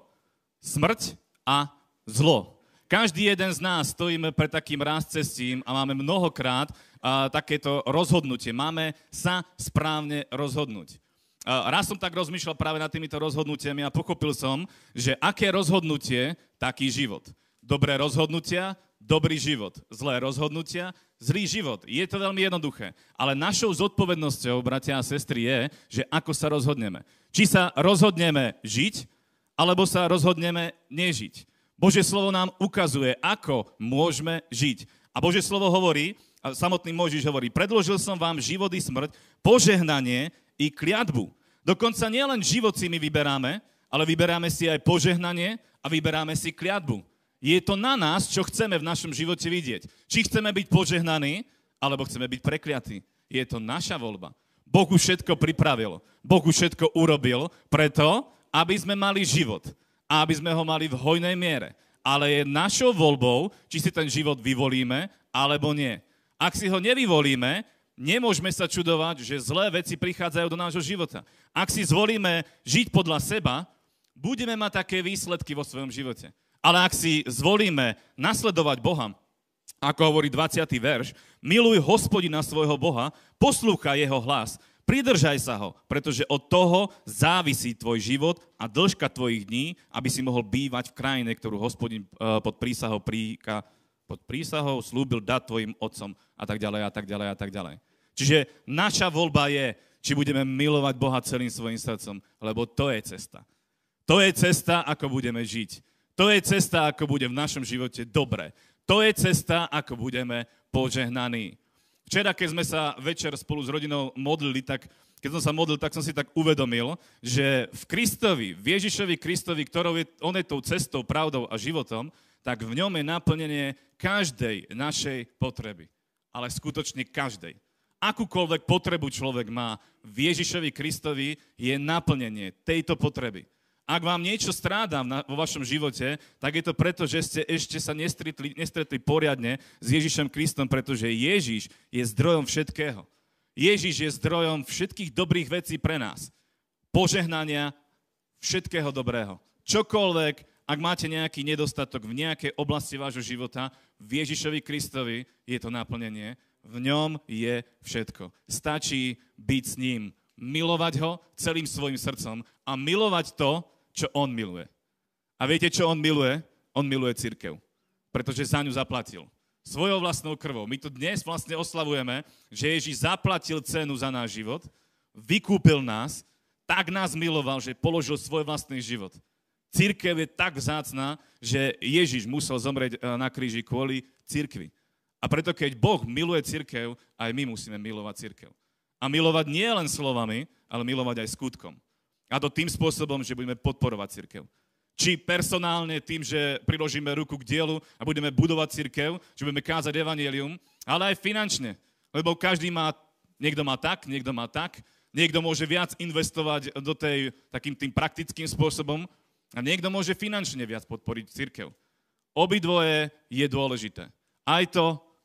smrť a zlo. Každý jeden z nás stojíme pred takým rázcestím a máme mnohokrát a, takéto rozhodnutie. Máme sa správne rozhodnúť. A, raz som tak rozmýšľal práve nad týmito rozhodnutiami a pochopil som, že aké rozhodnutie, taký život. Dobré rozhodnutia, dobrý život. Zlé rozhodnutia, zlý život. Je to veľmi jednoduché. Ale našou zodpovednosťou, bratia a sestry, je, že ako sa rozhodneme. Či sa rozhodneme žiť, alebo sa rozhodneme nežiť. Božie slovo nám ukazuje, ako môžeme žiť. A Božie slovo hovorí, a samotný Mojžiš hovorí, predložil som vám život i smrť, požehnanie i kliatbu. Dokonca nielen život si my vyberáme, ale vyberáme si aj požehnanie a vyberáme si kliatbu. Je to na nás, čo chceme v našom živote vidieť. Či chceme byť požehnaní, alebo chceme byť prekliatí. Je to naša voľba. Boh už všetko pripravil. Boh už všetko urobil preto, aby sme mali život. A aby sme ho mali v hojnej miere. Ale je našou voľbou, či si ten život vyvolíme, alebo nie. Ak si ho nevyvolíme, nemôžeme sa čudovať, že zlé veci prichádzajú do nášho života. Ak si zvolíme žiť podľa seba, budeme mať také výsledky vo svojom živote. Ale ak si zvolíme nasledovať Boha, ako hovorí dvadsiaty verš, miluj Hospodina svojho Boha, poslúchaj jeho hlas, pridržaj sa ho, pretože od toho závisí tvoj život a dĺžka tvojich dní, aby si mohol bývať v krajine, ktorú Hospodin pod prísahou, príka, pod prísahou slúbil dať tvojim otcom a tak ďalej a tak ďalej a tak ďalej. Čiže naša voľba je, či budeme milovať Boha celým svojim srdcom, lebo to je cesta. To je cesta, ako budeme žiť. To je cesta, ako bude v našom živote dobre. To je cesta, ako budeme požehnaní. Včera, keď sme sa večer spolu s rodinou modlili, tak keď som sa modlil, tak som si tak uvedomil, že v Kristovi, v Ježišovi Kristovi, ktorou je, on je tou cestou, pravdou a životom, tak v ňom je naplnenie každej našej potreby. Ale skutočne každej. Akúkoľvek potrebu človek má, v Ježišovi Kristovi je naplnenie tejto potreby. Ak vám niečo strádá vo vašom živote, tak je to preto, že ste ešte sa nestretli, nestretli poriadne s Ježišom Kristom, pretože Ježiš je zdrojom všetkého. Ježiš je zdrojom všetkých dobrých vecí pre nás. Požehnania všetkého dobrého. Čokoľvek, ak máte nejaký nedostatok v nejakej oblasti vášho života, v Ježišovi Kristovi je to naplnenie. V ňom je všetko. Stačí byť s ním, milovať ho celým svojim srdcom a milovať to, čo on miluje. A viete, čo on miluje? On miluje cirkev, pretože za ňu zaplatil. Svojou vlastnou krvou. My tu dnes vlastne oslavujeme, že Ježiš zaplatil cenu za náš život, vykúpil nás, tak nás miloval, že položil svoj vlastný život. Cirkev je tak vzácna, že Ježiš musel zomrieť na kríži kvôli cirkvi. A preto, keď Boh miluje cirkev, aj my musíme milovať cirkev. A milovať nie len slovami, ale milovať aj skutkom. A to tým spôsobom, že budeme podporovať cirkev. Či personálne tým, že priložíme ruku k dielu a budeme budovať cirkev, že budeme kázať evanjelium, ale aj finančne. Lebo každý má, niekto má tak, niekto má tak, niekto môže viac investovať do tej takým tým praktickým spôsobom a niekto môže finančne viac podporiť cirkev. Obidvoje je dôležité. Aj to,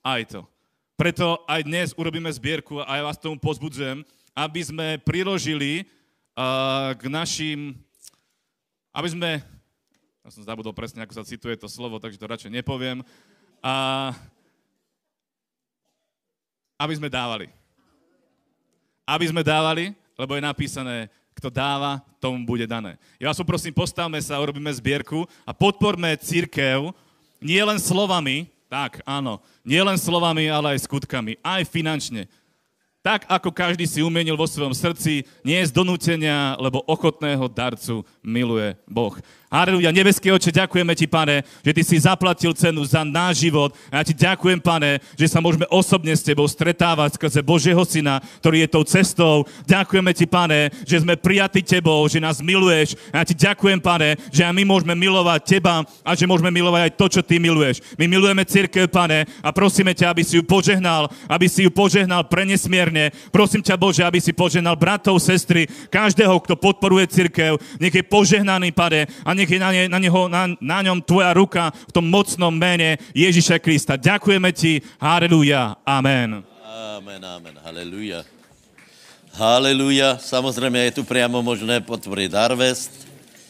aj to. Preto aj dnes urobíme zbierku a ja vás tomu pozbudzujem, aby sme priložili uh, k našim, aby sme, ja som zabudol presne, ako sa cituje to slovo, takže to radšej nepoviem, a aby sme dávali. Aby sme dávali, lebo je napísané, kto dáva, tomu bude dané. Ja vás poprosím, postavme sa, urobíme zbierku a podporme cirkev nie len slovami, tak, áno, nie len slovami, ale aj skutkami, aj finančne. Tak, ako každý si umienil vo svojom srdci, nie z donútenia, lebo ochotného darcu miluje Boh. Halelúja, nebeský Otče, ďakujeme ti, Pane, že ty si zaplatil cenu za náš život. A ja ti ďakujem, Pane, že sa môžeme osobne s tebou stretávať skrze Božieho Syna, ktorý je tou cestou. Ďakujeme ti, Pane, že sme prijatí tebou, že nás miluješ. A ja ti ďakujem, Pane, že aj my môžeme milovať teba a že môžeme milovať aj to, čo ty miluješ. My milujeme cirkev, Pane, a prosíme ťa, aby si ju požehnal, aby si ju požehnal prenesmierne. Prosím ťa, Bože, aby si požehnal bratov, sestry, každého, kto podporuje cirkev. Nech je požehnaný, Pane, a nech je na, ne, na, neho, na, na ňom tvoja ruka v tom mocnom mene Ježiša Krista. Ďakujeme ti. Halelúja. Amen. Amen, amen. Halelúja. Halelúja. Samozrejme, je tu priamo možné potvoriť Harvest.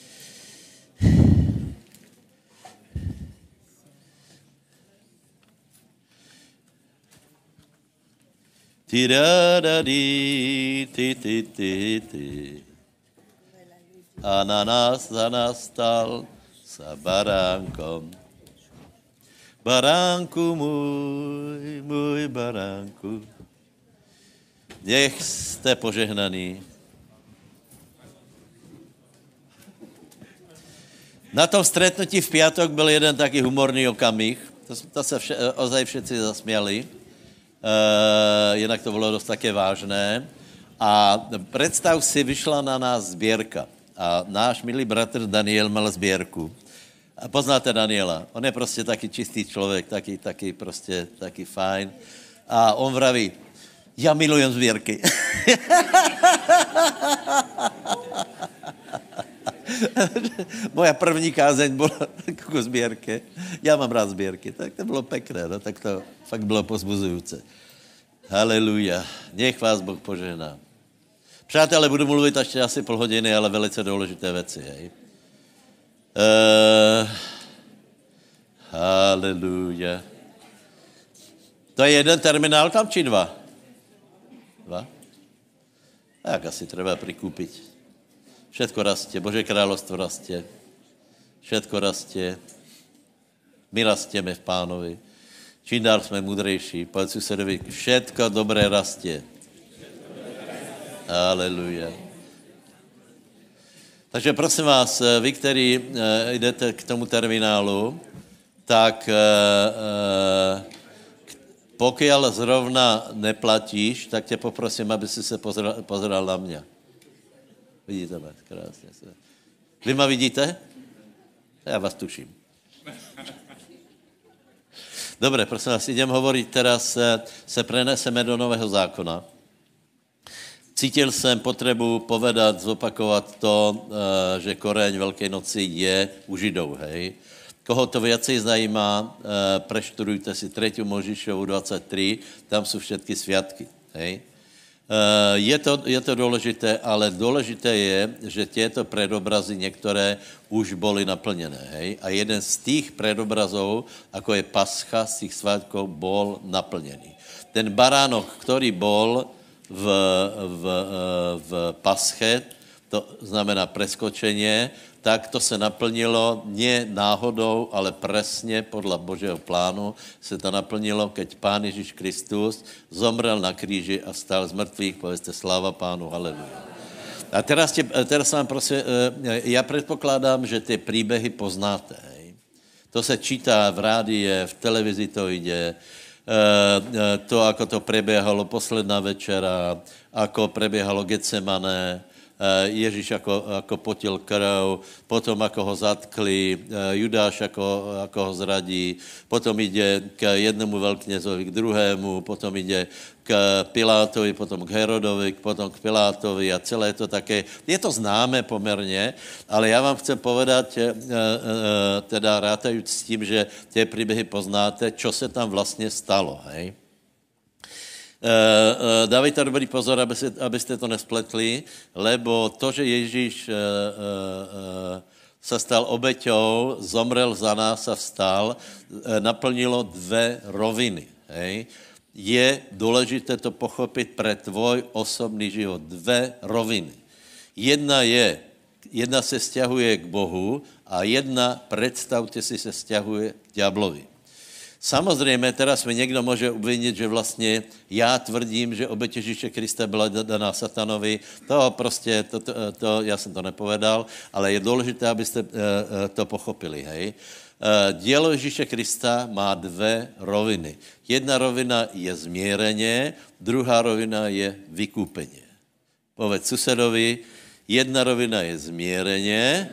Ti-da-da-di, ti-ti-ti-ti. A na nás zanastal sa baránkom. Baránku môj, môj baránku. Nech ste požehnaní. Na tom stretnutí v piatok byl jeden taký humorný okamih. To, to sa vše, ozaj všetci zasmiali. Uh, jinak to bylo dost také vážné. A predstav si, vyšla na nás zbierka. A náš milý bratr Daniel mal zbierku. A poznáte Daniela. On je prostě taký čistý člověk, taký, taký prostě, taký fajn. A on vraví, ja milujem zbierky. Moja první kázeň byla ku zbierke. Já mám rád zbierky. Tak to bylo pekné, no, tak to fakt bylo pozbuzujúce. Halelúja. Nech vás Boh požehná. Přátelé, budu mluvit ještě asi půl hodiny, ale velice důležité věci, hej. Uh, halelúja. To je jeden terminál tam, či dva? Dva? Tak asi treba prikúpiť. Všetko rastie, Božie kráľovstvo rastie. Všetko rastie. My rastieme v Pánovi. Čím dál jsme mudrejší. Povedz susedovi, všetko dobré rastie. Aleluja. Takže prosím vás, vy, kteří jdete k tomu terminálu, tak pokiaľ zrovna neplatíš, tak tě poprosím, aby si se pozeral, pozeral na mě. Vidíte mě? Krásně. Vy ma vidíte? Já vás tuším. Dobre, prosím vás, idem hovoriť teraz, se preneseme do Nového zákona. Cítil jsem potřebu povedat, zopakovat to, že koreň Velké noci je u Židov, hej. Koho to viacej zajímá, preštudujte si tretiu Možišovu dvadsaťtri, tam jsou všetky sviatky, hej. Je to, je to důležité, ale důležité je, že tieto predobrazy některé už boli naplněné, hej. A jeden z tých predobrazov, ako je Pascha, z tých svátkov, bol naplněný. Ten baránok, ktorý bol v, v, v Pasche, to znamená preskočenie, tak to se naplnilo nie náhodou, ale presne podľa Božieho plánu se to naplnilo, keď Pán Ježíš Kristus zomrel na kríži a stal z mŕtvych. Povedzte sláva Pánu, haleluja. A teraz, te, teraz vám prosím, ja predpokladám, že tie príbehy poznáte. Hej. To se čítá v rádie, v televizi to ide, to, ako to prebiehalo posledná večera, ako prebiehalo Getsemane, Ježíš ako, ako potil krv, potom ako ho zatkli, Judáš ako, ako ho zradí, potom ide k jednomu veľkňazovi, k druhému, potom ide k Pilátovi, potom k Herodovi, potom k Pilátovi a celé to také, je to známe pomerne, ale já vám chcem povedať, teda rátajúc s tím, že tie príbehy poznáte, čo se tam vlastně stalo, hej. Dávejte dobrý pozor, aby ste, aby ste to nespletli, lebo to, že Ježíš sa stal obeťou, zomrel za nás a vstal, naplnilo dve roviny, hej. Je důležité to pochopit pre tvoj osobný život. Dve roviny. Jedna je, jedna se sťahuje k Bohu a jedna, predstavte si, se sťahuje k ďablovi. Samozřejmě, teraz mi někdo může obvinit, že vlastně já tvrdím, že obeť Ježíše Krista byla daná satanovi. To prostě, to, to, to, já jsem to nepovedal, ale je důležité, abyste to pochopili, hej. Dielo Ježíše Krista má dve roviny. Jedna rovina je zmiereně, druhá rovina je vykúpenie. Povedz susedovi, jedna rovina je zmiereně,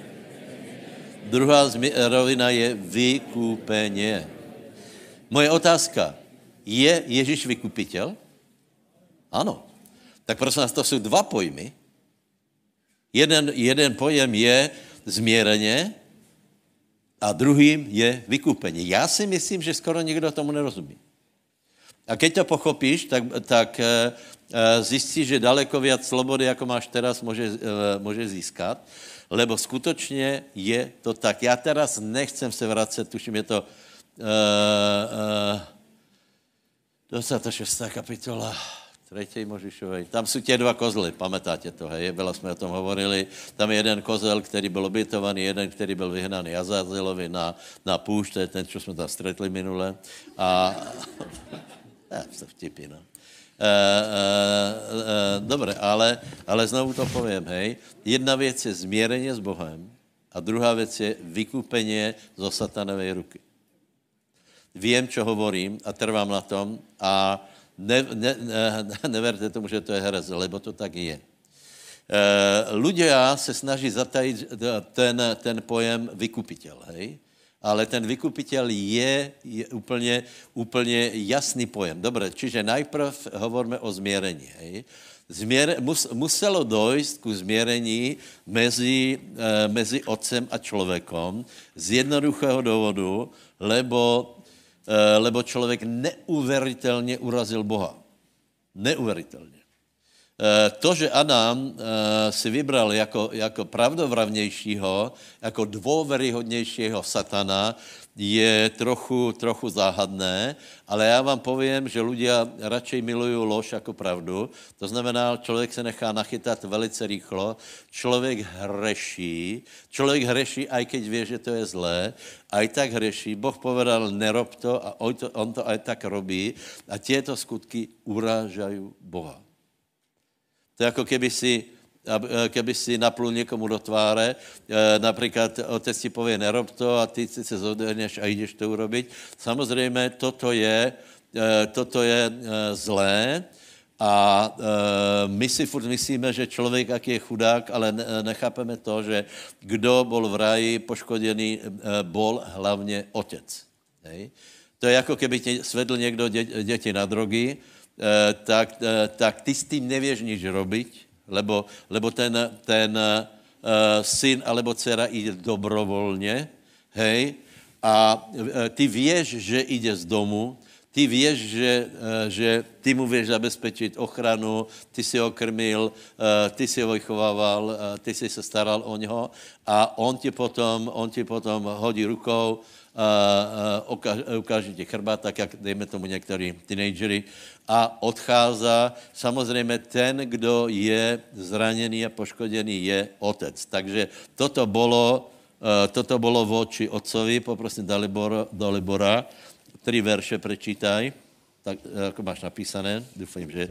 druhá rovina je vykúpenie. Moje otázka, je Ježíš vykupitel? Ano. Tak prosím vás, to jsou dva pojmy. Jeden, jeden pojem je zmiereně, a druhým je vykúpení. Já si myslím, že skoro nikdo tomu nerozumí. A keď to pochopíš, tak, tak e, zjistíš, že daleko viac slobody, jako máš teraz, může, e, může získat, lebo skutočně je to tak. Já teraz nechcem se vracet, tuším, je to e, e, dvacátá šestá kapitola třetí Možišovej. Tam jsou tě dva kozly, pamätáte to, hej, veľa jsme o tom hovorili. Tam je jeden kozel, který byl obětovaný, jeden, který byl vyhnaný Azazelovi na, na púšť, to je ten, čo jsme tam stretli minule. A ja, se vtipí, no. E, e, e, dobre, ale, ale znovu to poviem, hej. Jedna věc je zmierenie s Bohem a druhá věc je vykúpenie zo satanovej ruky. Viem, čo hovorím a trvám na tom a Ne, ne, ne, neverte tomu, že to je herez, lebo to tak je. E, ľudia se snaží zatajiť ten, ten pojem vykupitel, hej? Ale ten vykupitel je, je úplne, úplne jasný pojem. Dobre, čiže najprv hovoríme o zmierení, hej? Zmier, mus, muselo dojsť ku zmierení mezi, e, mezi otcem a človekom z jednoduchého dôvodu, lebo lebo člověk neuveriteľne urazil Boha. Neuveriteľne. To, že Adam si vybral jako, jako pravdovravnějšího, jako dôveryhodnějšího satana, je trochu, trochu záhadné, ale já vám poviem, že ľudia radšej milujú lož jako pravdu. To znamená, člověk se nechá nachytat velice rýchlo, člověk hreší, člověk hreší, aj keď vie, že to je zlé, aj tak hreší. Boh povedal, nerob to a on to, on to aj tak robí a tieto skutky urážajú Boha. To je ako keby si, keby si naplul někomu do tváře, například otec ti povie, nerob to a ty si se zodhneš a jdeš to urobiť. Samozřejmě toto je, toto je zlé a my si furt myslíme, že člověk, jak je chudák, ale nechápeme to, že kdo bol v ráji poškodený, bol hlavně otec. Hej? To je jako keby ti svedl někdo dě, děti na drogy, tak, tak ty s tím nevieš nič robiť, lebo, lebo ten, ten uh, syn alebo dcera ide dobrovolně, hej, a uh, ty vieš, že ide z domu, ty vieš, že, uh, že ty mu vieš zabezpečit ochranu, ty si ho krmil, uh, ty si ho vychovával, uh, ty si se staral o něho a on ti potom, on ti potom hodí rukou, uh, uh, ukáže ti chrbát, tak jak dejme tomu některý teenagery, a odchází. Samozřejmě ten, kdo je zraněný a poškodený, je otec. Takže toto bolo, uh, toto bolo voči otcovi, poprosím Dalibora, Dalibora, tri verše prečítaj, tak ako máš napísané, dúfam, že...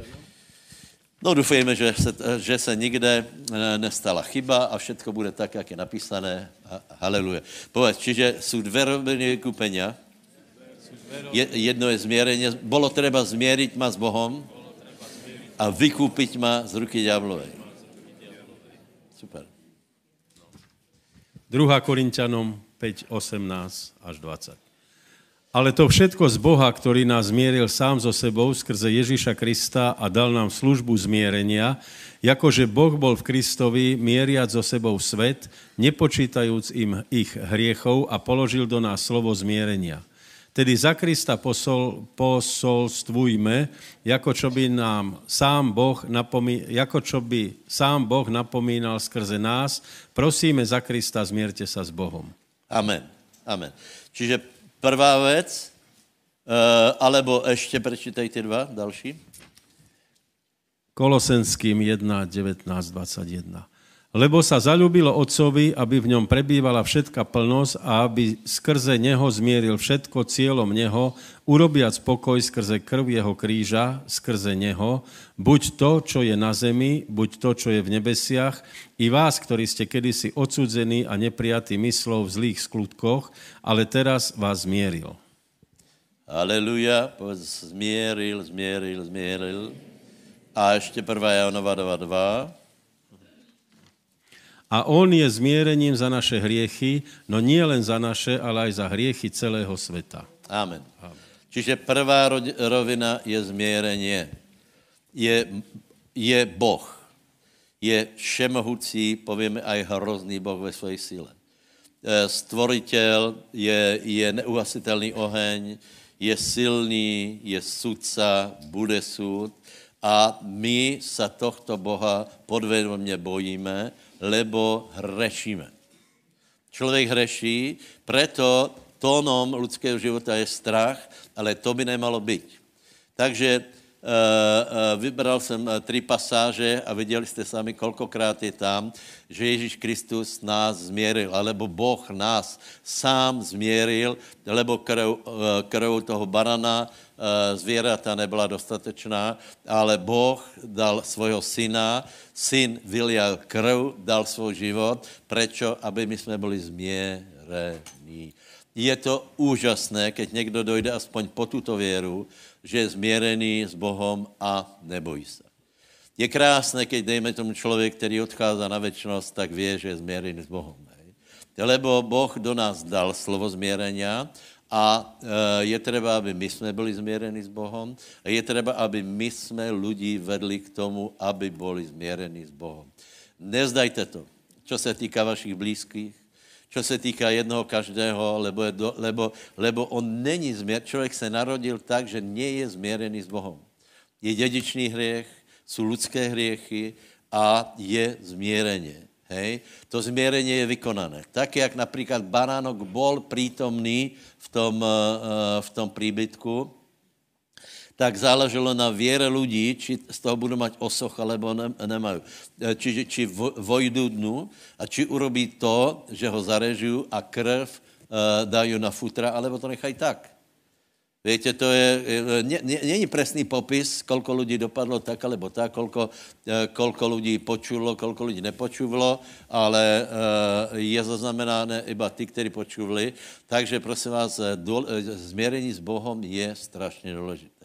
No dúfajme, že se, že se nikde nestala chyba a všetko bude tak, jak je napísané. Haleluja. Povedz, čiže sú dve roviny vykúpenia. Jedno je zmierenie. Bolo treba zmieriť ma s Bohom a vykúpiť ma z ruky ďablovej. super. druhá Korinťanom päť, osemnásť až dvadsať. Ale to všetko z Boha, ktorý nás zmieril sám so sebou skrze Ježiša Krista a dal nám službu zmierenia, jakože Boh bol v Kristovi mieriac so sebou svet, nepočítajúc im ich hriechov a položil do nás slovo zmierenia. Tedy za Krista posol, posolstvujme, ako čo by nám sám Boh napomí, ako čo by sám Boh napomínal skrze nás, prosíme za Krista, zmierte sa s Bohom. Amen. Amen. Čiže prvá vec, uh, alebo ešte prečítaj tie dva, další. Kolosenským jedna, devätnásť, dvadsaťjeden. Lebo sa zaľúbilo Otcovi, aby v ňom prebývala všetka plnosť a aby skrze neho zmieril všetko cieľom neho, urobiac pokoj skrze krv jeho kríža, skrze neho, buď to, čo je na zemi, buď to, čo je v nebesiach, i vás, ktorí ste kedysi odsudzení a neprijatí myslov v zlých skutkoch, ale teraz vás zmieril. Aleluja, povedz zmieril, zmieril, zmieril. A ešte prvá Jánova dva dva. A on je zmierením za naše hriechy, no nie len za naše, ale aj za hriechy celého sveta. Amen. Amen. Čiže prvá rovina je zmierenie. Je, je Boh. Je všemohúci, povieme aj hrozný Boh ve svojej sile. Stvoriteľ je, je neuhasiteľný oheň, je silný, je sudca, bude súd. A my sa tohto Boha podvedomne bojíme, lebo hrešíme. Človek hreší, preto tónom ľudského života je strach, ale to by nemalo byť. Takže e, e, vybral som tri pasáže a videli ste sami, koľkokrát je tam, že Ježíš Kristus nás zmieril, alebo Boh nás sám zmieril, lebo krv, krv toho barana zvieratá nebyla dostatečná, ale Boh dal svojho syna, syn vylial krv, dal svoj život, prečo? Aby my sme boli zmierení. Je to úžasné, keď niekto dojde aspoň po túto vieru, že je zmierený s Bohom a nebojí sa. Je krásne, keď dejme tomu človek, ktorý odchádza na večnosť, tak vie, že je zmierený s Bohom. Hej. Lebo Boh do nás dal slovo zmierenia, a je treba, aby my sme boli zmierení s Bohom a je treba, aby my sme ľudí vedli k tomu, aby boli zmierení s Bohom. Nezdajte to, čo sa týka vašich blízkych, čo sa týka jednoho každého, lebo, je do, lebo, lebo on není zmier. Človek sa narodil tak, že nie je zmierený s Bohom. Je dedičný hriech, sú ľudské hriechy a je zmierenie. Hej. To zmierenie je vykonané. Tak, jak napríklad baránok bol prítomný v tom, v tom príbytku, tak záleželo na viere ľudí, či z toho budú mať osoch, alebo ne, nemajú. Čiže či vojdu dnu a či urobí to, že ho zarežujú a krv dajú na futra, alebo to nechajú tak. Viete, to je, nie, nie, nie je presný popis, koľko ľudí dopadlo tak, alebo tak, koľko, koľko ľudí počulo, koľko ľudí nepočuvalo, ale je zaznamenané iba tí, ktorí počuli. Takže prosím vás, zmierení s Bohom je strašne dôležité.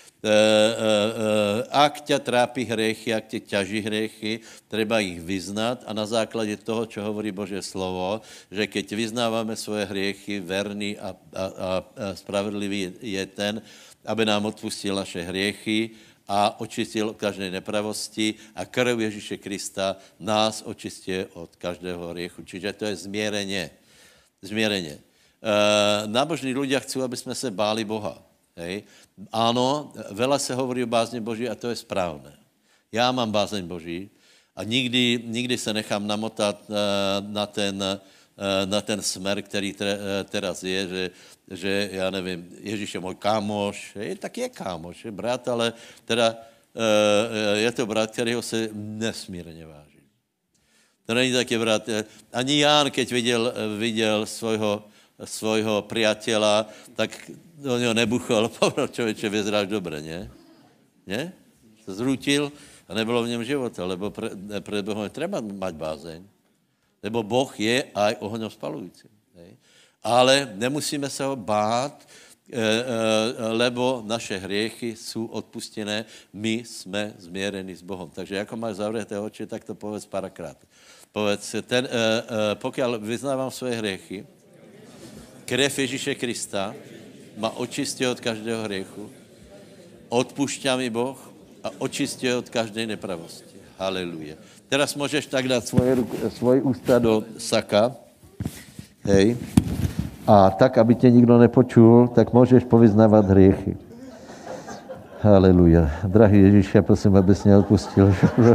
Ak ťa trápi hriechy, ak ťa ťaží hriechy, treba ich vyznať a na základe toho, čo hovorí Božie slovo, že keď vyznávame svoje hriechy, verný a, a, a spravedlivý je ten, aby nám odpustil naše hriechy a očistil od každej nepravosti a krv Ježíše Krista nás očistie od každého hriechu. Čiže to je zmierenie. Zmierenie. E, nábožní ľudia chcú, aby sme sa báli Boha. Hej. Áno, veľa sa hovorí o bázni Boží a to je správne. Ja mám bázeň Boží a nikdy, nikdy sa nechám namotať na ten, na ten smer, ktorý teraz je, že, že ja neviem, Ježíš je môj kámoš, je, tak je kámoš, je brat, ale teda je to brat, ktorého sa nesmírne váži. To není taký brat. Ani Ján, keď videl, videl svojho, svojho priateľa, tak do něho nebuchol, povedal, člověče, vyzráš dobre, nie? Nie? Se zrútil a nebylo v něm života, lebo pre, pred Bohom je treba mať bázeň. Lebo Boh je aj ohňom spalujúci. Ale nemusíme sa ho bát, lebo naše hriechy sú odpustené, my sme zmierení s Bohom. Takže ako máš zavreté oči, tak to povedz párkrát. Povedz, ten, pokiaľ vyznávam svoje hriechy, krev Ježíše Krista ma očistí od každého hriechu, odpúšťa mi Boh a očistí od každej nepravosti. Haleluja. Teraz môžeš tak dať svoje, svoje ústa do saka, hej, a tak, aby tě nikdo nepočul, tak můžeš povyznávat hriechy. Haleluja. Drahý Ježíš, já prosím, abys mě odpustil.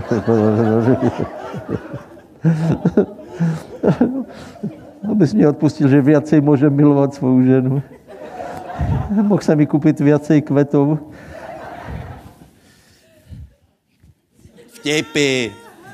Abys mě odpustil, že viacej můžem milovat svou ženu. Mohl jsem mi koupit viacej kvetov. Vtipy.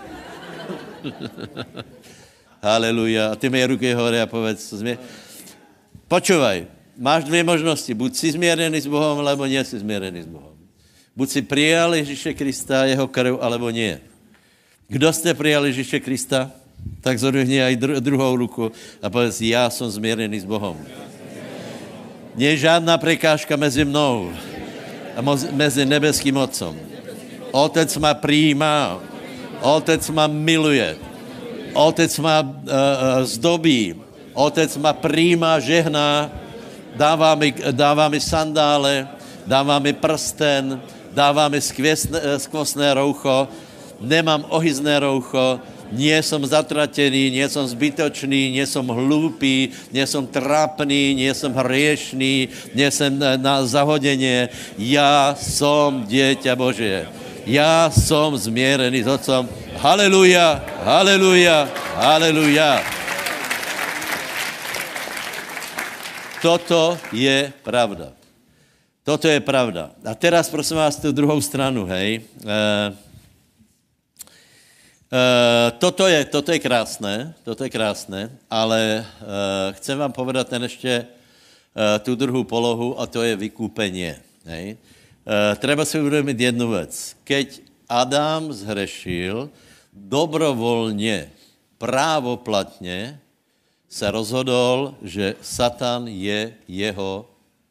Haleluja. A ty mi ruky hore a povedz, změ... Počúvaj, máš dvě možnosti. Buď si zmierený s Bohom, alebo nie si zmierený s Bohom. Buď si prijal Ježíše Krista, jeho krv, alebo nie. Kdo ste prijal Ježíše Krista, tak zodvihni aj dru- druhou ruku a povedz, já som zmierený s Bohom. Nie je žádná prekážka mezi mnou a mo- mezi nebeským Otcom. Otec ma prijímá, Otec ma miluje, Otec ma uh, uh, zdobí, Otec ma prijímá, žehná, dává mi, dává mi sandále, dává mi prsten, dává mi skvostné, skvostné roucho, nemám ohyzné roucho, nie som zatratený, nie som zbytočný, nie som hlúpý, nie som trápný, nie som hriešný, nie som na zahodenie. Ja som dieťa Božie. Ja som zmierený s Otcom. Haleluja, haleluja, haleluja. Toto je pravda. Toto je pravda. A teraz prosím vás tu druhou stranu, hej. E, e, toto, je, toto je krásne, toto je krásne, ale e, chcem vám povedať ten ešte e, tú druhú polohu a to je vykúpenie, hej. E, treba si uvedomiť jednu vec. Keď Adam zhrešil, dobrovoľne, právoplatne sa rozhodol, že Satan je jeho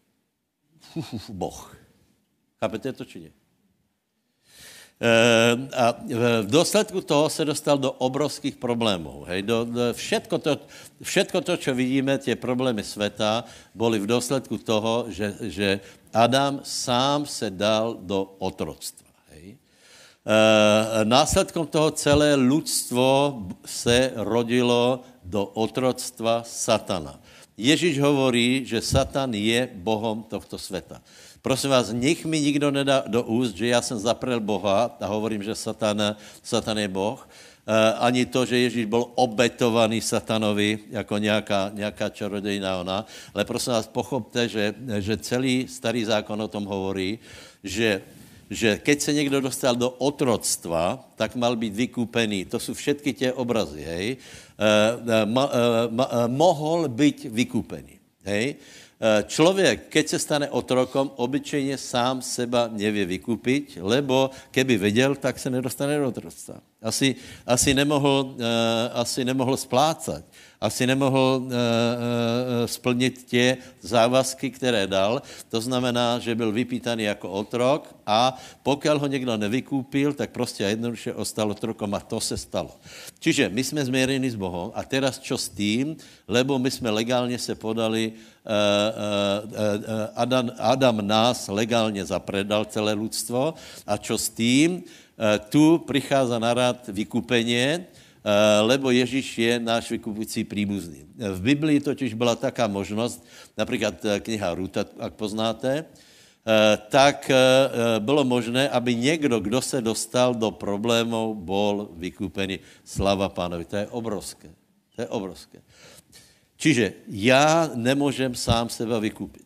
boh. Chápete to, či nie? E, a v dôsledku toho sa dostal do obrovských problémov. Hej? Do, do, všetko, to, všetko to, čo vidíme, tie problémy sveta, boli v dôsledku toho, že, že Adam sám sa dal do otroctva. Hej? E, následkom toho celé ľudstvo sa rodilo do otroctva Satana. Ježíš hovorí, že Satan je Bohom tohto sveta. Prosím vás, nech mi nikdo nedá do úst, že ja som zaprel Boha a hovorím, že Satan, Satan je Boh. E, ani to, že Ježíš bol obetovaný Satanovi jako nejaká, nejaká čarodejná ona. Ale prosím vás, pochopte, že, že celý starý zákon o tom hovorí, že že keď sa niekto dostal do otroctva, tak mal byť vykúpený. To sú všetky tie obrazy, hej. E, ma, e, ma, e, mohol byť vykúpený, hej. E, človek, keď sa stane otrokom, obyčejne sám seba nevie vykúpiť, lebo keby vedel, tak sa nedostane do otroctva. Asi, asi, nemohol, e, asi nemohol splácať. Asi nemohl uh, uh, splnit tie závazky, které dal. To znamená, že byl vypýtaný jako otrok a pokiaľ ho někdo nevykúpil, tak prostě a jednoduše ostal otrokom a to se stalo. Čiže my jsme zmierení s Bohom a teraz čo s tým, lebo my jsme legálně se podali, uh, uh, uh, Adam, Adam nás legálně zapredal celé ľudstvo a čo s tým, uh, tu prichádza na rad vykúpenie, lebo Ježíš je náš vykupující príbuzný. V Biblii totiž byla taká možnost, například kniha Ruta, ak poznáte, tak bylo možné, aby někdo, kdo se dostal do problémov, bol vykúpený. Slava Pánovi. To je obrovské. To je obrovské. Čiže já nemůžem sám seba vykúpiť.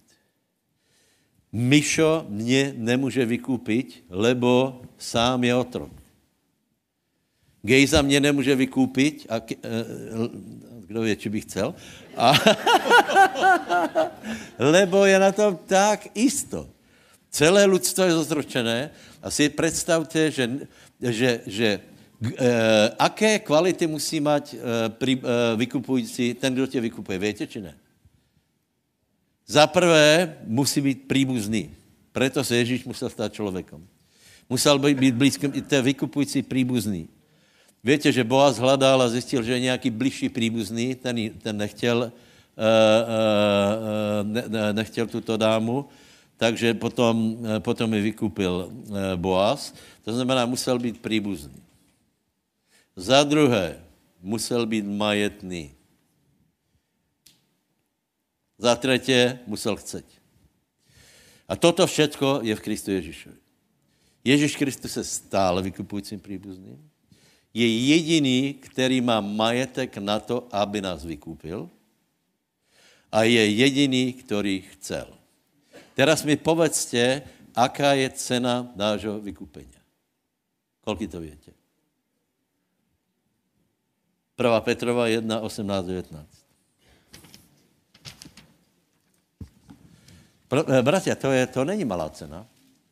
Mišo mě nemůže vykúpiť, lebo sám je otrok. Gejza mě nemůže vykúpiť, a ke, kdo ví, či bych chcel, a, lebo je na tom tak isto. Celé ľudstvo je zozročené a si predstavte, že, že, že e, aké kvality musí mať e, pri, e, vykupující, ten, kdo tě vykupuje. Viete, či ne? Za prvé musí být príbuzný. Preto se Ježíš musel stát člověkom. Musel být blízkým, i to je vykupující príbuzný. Víte, že Boaz hledal a zjistil, že je nějaký bližší príbuzný, ten, ten nechtěl, uh, uh, ne, ne, nechtěl tuto dámu, takže potom, uh, potom ji vykupil uh, Boaz. To znamená, musel být príbuzný. Za druhé, musel být majetný. Za třetí, musel chceť. A toto všetko je v Kristu Ježíšovi. Ježíš Kristus se stále vykupujícím príbuzným. Je jediný, který má majetek na to, aby nás vykúpil. A je jediný, který chcel. Teraz mi povedzte, aká je cena nášho vykúpenia. Koľko to viete? prvá Petrova jedna, osemnásť, devätnásť. Bratia, to, je, to není malá cena.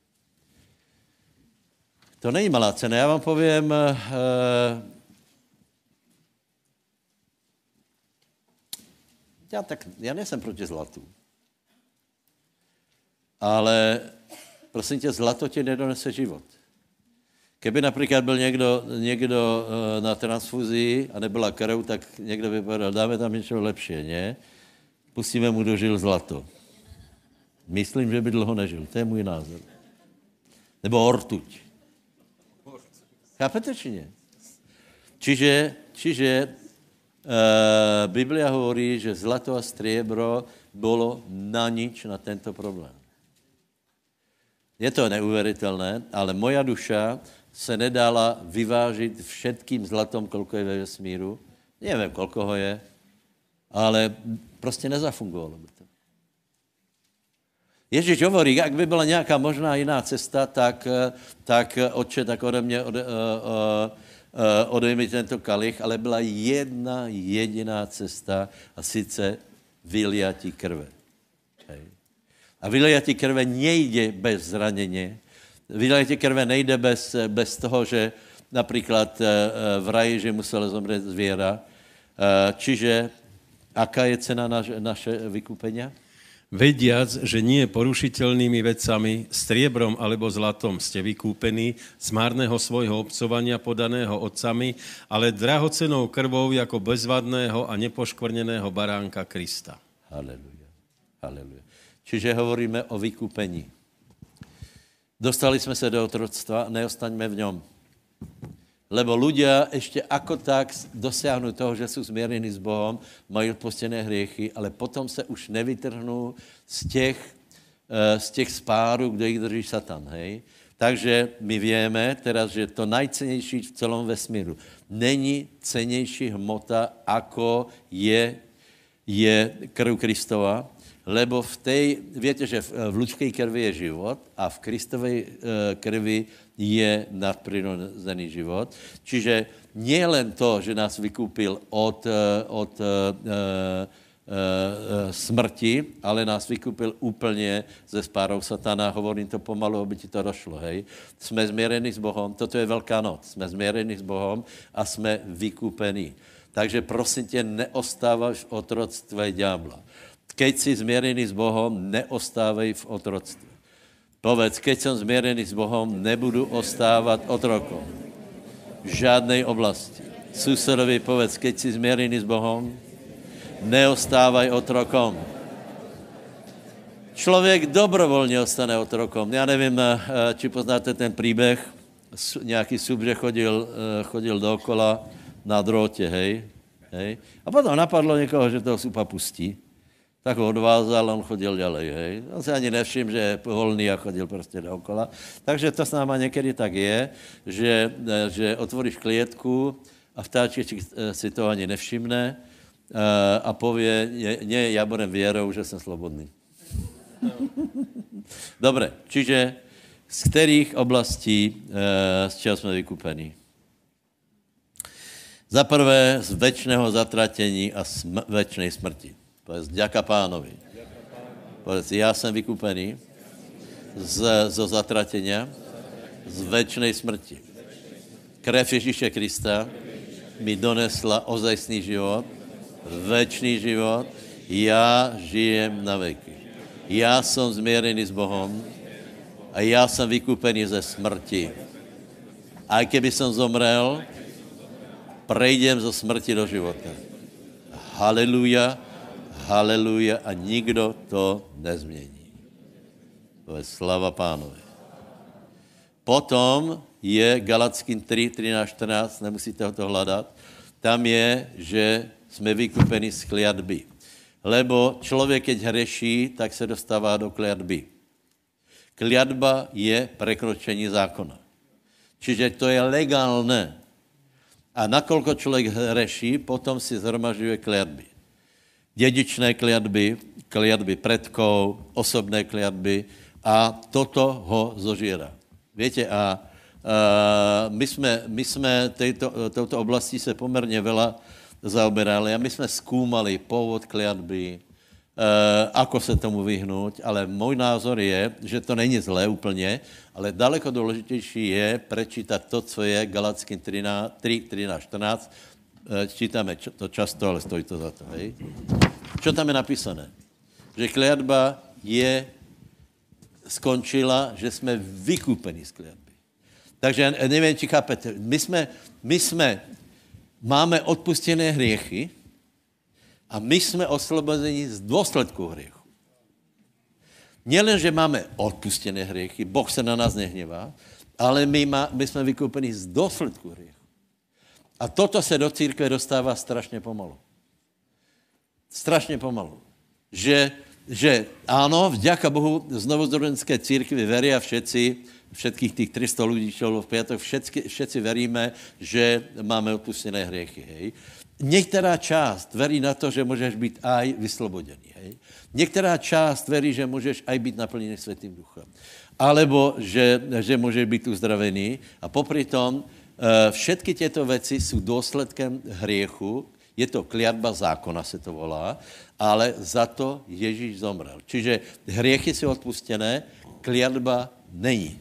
To není malá cena. Já vám povím, uh, já, tak, já nejsem proti zlatu. Ale prosím tě, zlato ti nedonese život. Keby například byl někdo, někdo uh, na transfuzii a nebyla krv, tak někdo by povedal, dáme tam něco lepší, ne? Pustíme mu do žil zlato. Myslím, že by dlouho nežil. To je můj názor. Nebo ortuť. Chápete, či nie? Čiže, čiže uh, Biblia hovorí, že zlato a striebro bylo na nič na tento problém. Je to neuvěřitelné, ale moja duša se nedala vyvážit všetkým zlatom, kolko je ve vesmíru. Nevím, kolko ho je, ale prostě nezafungovalo by to. Ježíš hovorí, jak by byla nějaká možná jiná cesta, tak, tak otče, tak ode mě ode, uh, uh, odejmi tento kalich, ale byla jedna jediná cesta a sice vyliatí krve. Hej. A vyliatí krve nejde bez zranění. Vyliatí krve nejde bez, bez toho, že například uh, v raji, že muselo zomřít zvěra. Uh, čiže aká je cena naš, naše vykúpenia? Vediac, že nie porušiteľnými vecami, striebrom alebo zlatom ste vykúpení z márneho svojho obcovania podaného otcami, ale drahocenou krvou ako bezvadného a nepoškvrneného baránka Krista. Haleluja. Haleluja. Čiže hovoríme o vykúpení. Dostali sme sa do otroctva, neostaňme v ňom. Lebo ľudia ešte ako tak dosiahnu toho, že sú zmierení s Bohom, majú odpustené hriechy, ale potom sa už nevytrhnú z těch, z těch spárů, kde ich drží Satan, hej? Takže my vieme teraz, že to najcenejší v celom vesmíru není cenejší hmota, ako je, je krv Kristova, lebo v tej, viete, že v ľudskej krvi je život a v Kristovej krvi je nadprirodzený život. Čiže nie len to, že nás vykúpil od, od uh, uh, uh, smrti, ale nás vykúpil úplne ze spárov Satana. Hovorím to pomalu, aby ti to došlo, hej. Sme zmierení s Bohom, toto je Veľká noc. Sme zmierení s Bohom a sme vykúpení. Takže prosím tě, neostávaš v otroctve ďábla. Keď si zmierený s Bohom, neostávej v otroctve. Povedz, keď som zmierený s Bohom, nebudu ostávať otrokom. V žádnej oblasti. Susedovi povedz, keď si zmierený s Bohom, neostávaj otrokom. Člověk dobrovolně ostane otrokom. Já nevím, či poznáte ten príbeh. Nějaký subře chodil, chodil dookola na drôte, hej. hej. A potom napadlo někoho, že toho supa pustí. Tak ho odvázal, on chodil ďalej, hej. On si ani nevšim, že je holný a chodil prostě dookola. Takže to s náma někdy tak je, že, že otvoríš klietku a vtáček si to ani nevšimne a povie, nie, ja budem vierou, že jsem slobodný. Dobre, čiže z kterých oblastí z čeho jsme vykupení? Za prvé z večného zatratení a sm- večnej smrti. Povedz, ďaká Pánovi. Povedz, já jsem vykúpený z, zo zatratenia, z večnej smrti. Krev Ježíše Krista mi donesla ozajstný život, večný život, já žijem na veky. Já jsem zmierený s Bohom a já jsem vykúpený ze smrti. A keby som zomrel, prejdem zo smrti do života. Haleluja, haleluja a nikdo to nezmění. To je slava Pánovi. Potom je Galackým tři, třináct, čtrnáct, nemusíte ho to hledat, tam je, že jsme vykúpení z kliatby. Lebo člověk, keď hreší, tak se dostává do kliatby. Kliatba je prekročení zákona. Čiže to je legálne. A nakoľko člověk hreší, potom si zhromažďuje kliatby. Dedičné kliatby, kliatby predkov, osobné kliatby a toto ho zožiera. Viete, a, a my jsme, my jsme tejto, touto oblasti se poměrně veľa zaoberali a my jsme skúmali pôvod kliatby, e, ako se tomu vyhnúť, ale můj názor je, že to není zlé úplně, ale daleko důležitější je prečítať to, co je Galackým tři, třináct, čtrnáct. E, čítáme to často, ale stojí to za to. Hej? Čo tam je napísané? Že kliatba je skončila, že jsme vykúpení z kliatby. Takže nevím, či chápete. My jsme, my jsme máme odpustené hriechy a my jsme oslobodení z důsledku hriechu. Nielen, že máme odpustené hriechy, Boh se na nás nehnevá, ale my, má, my jsme vykúpení z důsledku hriechu. A toto se do církve dostává strašně pomalu. Strašně pomalu. Že, že áno, vďaka Bohu znovuzrodenské církvi veria všetci, všetkých tých tristo ľudí, čo bolo v piatok, všetci, všetci veríme, že máme odpustené hriechy. Hej. Některá část verí na to, že můžeš být aj vyslobodený. Hej. Některá část verí, že můžeš aj být naplněný Svätým Duchom. Alebo že, že můžeš být uzdravený. A popri tom všetky tieto veci sú dôsledkem hriechu. Je to kliatba zákona, se to volá, ale za to Ježíš zomrel. Čiže hriechy sú odpustené, kliatba není.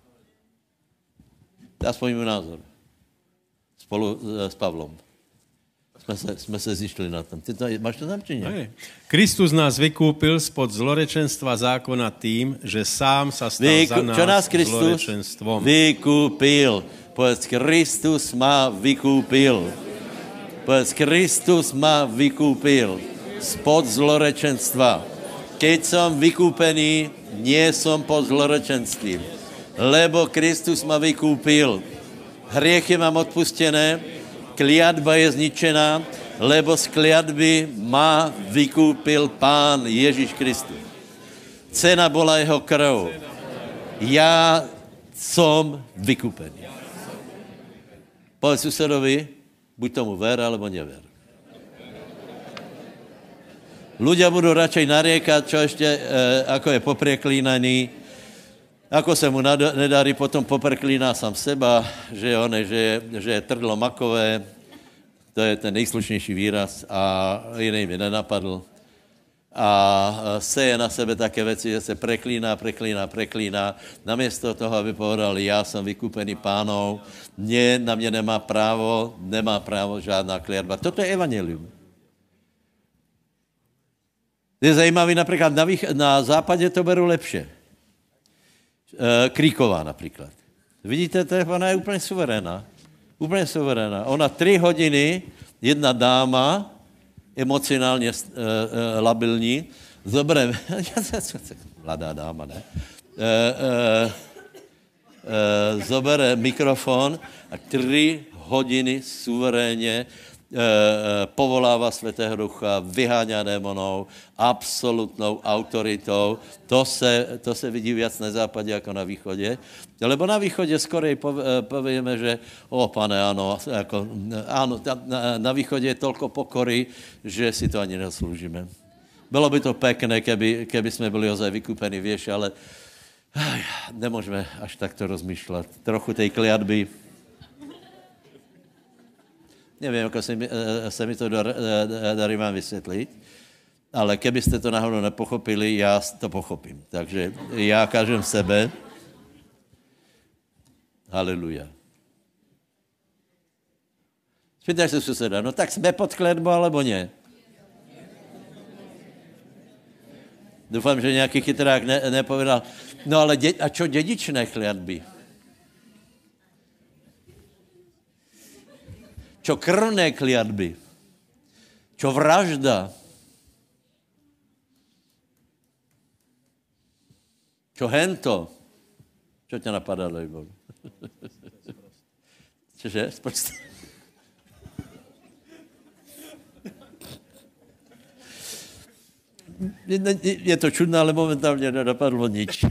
Aspoň můj názor. Spolu s Pavlom. Jsme se, jsme se zišli na tom. Ty to, máš to tam, či nie? Kristus nás vykúpil spod zlorečenstva zákona tým, že sám sa stal Vyku, za nás, čo nás Kristus zlorečenstvom. Vykúpil. Povedz, Kristus ma vykúpil. Povedz, Kristus ma vykúpil spod zlorečenstva. Keď som vykúpený, nie som pod zlorečenstvím. Lebo Kristus ma vykúpil. Hriechy mám odpustené, kliatba je zničená, lebo z kliatby ma vykúpil Pán Ježíš Kristus. Cena bola jeho krv. Ja som vykúpený. Povedz susedovi, buď tomu ver, alebo never. Ľudia budú radšej nariekať, čo ešte, e, ako je popreklínaný, ako se mu nedarí, potom popreklíná sám seba, že, on, že, je, že je trdlo makové, to je ten nejslušnější výraz a jiný mi nenapadl. A seje na sebe také věci, že se preklíná, preklíná, preklíná. Namiesto toho, aby povedal, já jsem vykúpený Pánov, mě, na mě nemá právo, nemá právo žádná kliatba. Toto je evangelium. Je zajímavý, například na, vých, na západě to beru lepše. Kríková například. Vidíte, to je, ona je úplně suverénna. Úplně suverénna. Ona tři hodiny, jedna dáma, emocionálně uh, uh, labilní, zobereme, mladá dáma, ne? Uh, uh, uh, zobere mikrofon a tři hodiny suverénně povolává Svätého Ducha, vyháňa démonov, absolutnou autoritou. To se, to se vidí viac na západě jako na východě. Lebo na východě skorej povieme, že o pane, áno, jako, áno na, na východě je toľko pokory, že si to ani neslúžime. Bylo by to pekné, keby, keby jsme byli ozaj vykúpení, vieš, ale aj, nemôžeme až takto rozmýšľať. Trochu tej kliatby. Nevím, jak se mi, se mi to darí vám vysvětlit, ale kebyste to náhodou nepochopili, já to pochopím. Takže já kažem sebe. Haleluja. Spýtaj se suseda, no tak jsme pod kletbou, alebo ne? Doufám, že nějaký chytrák ne, nepovedal. No ale dě, a čo dědičné kliatby? Čo krvné kliatby? Čo vražda? Čo hento? Čo ťa napadá, Lejbo? Čože? Spočte. Je to čudné, ale momentálně nenapadlo nič.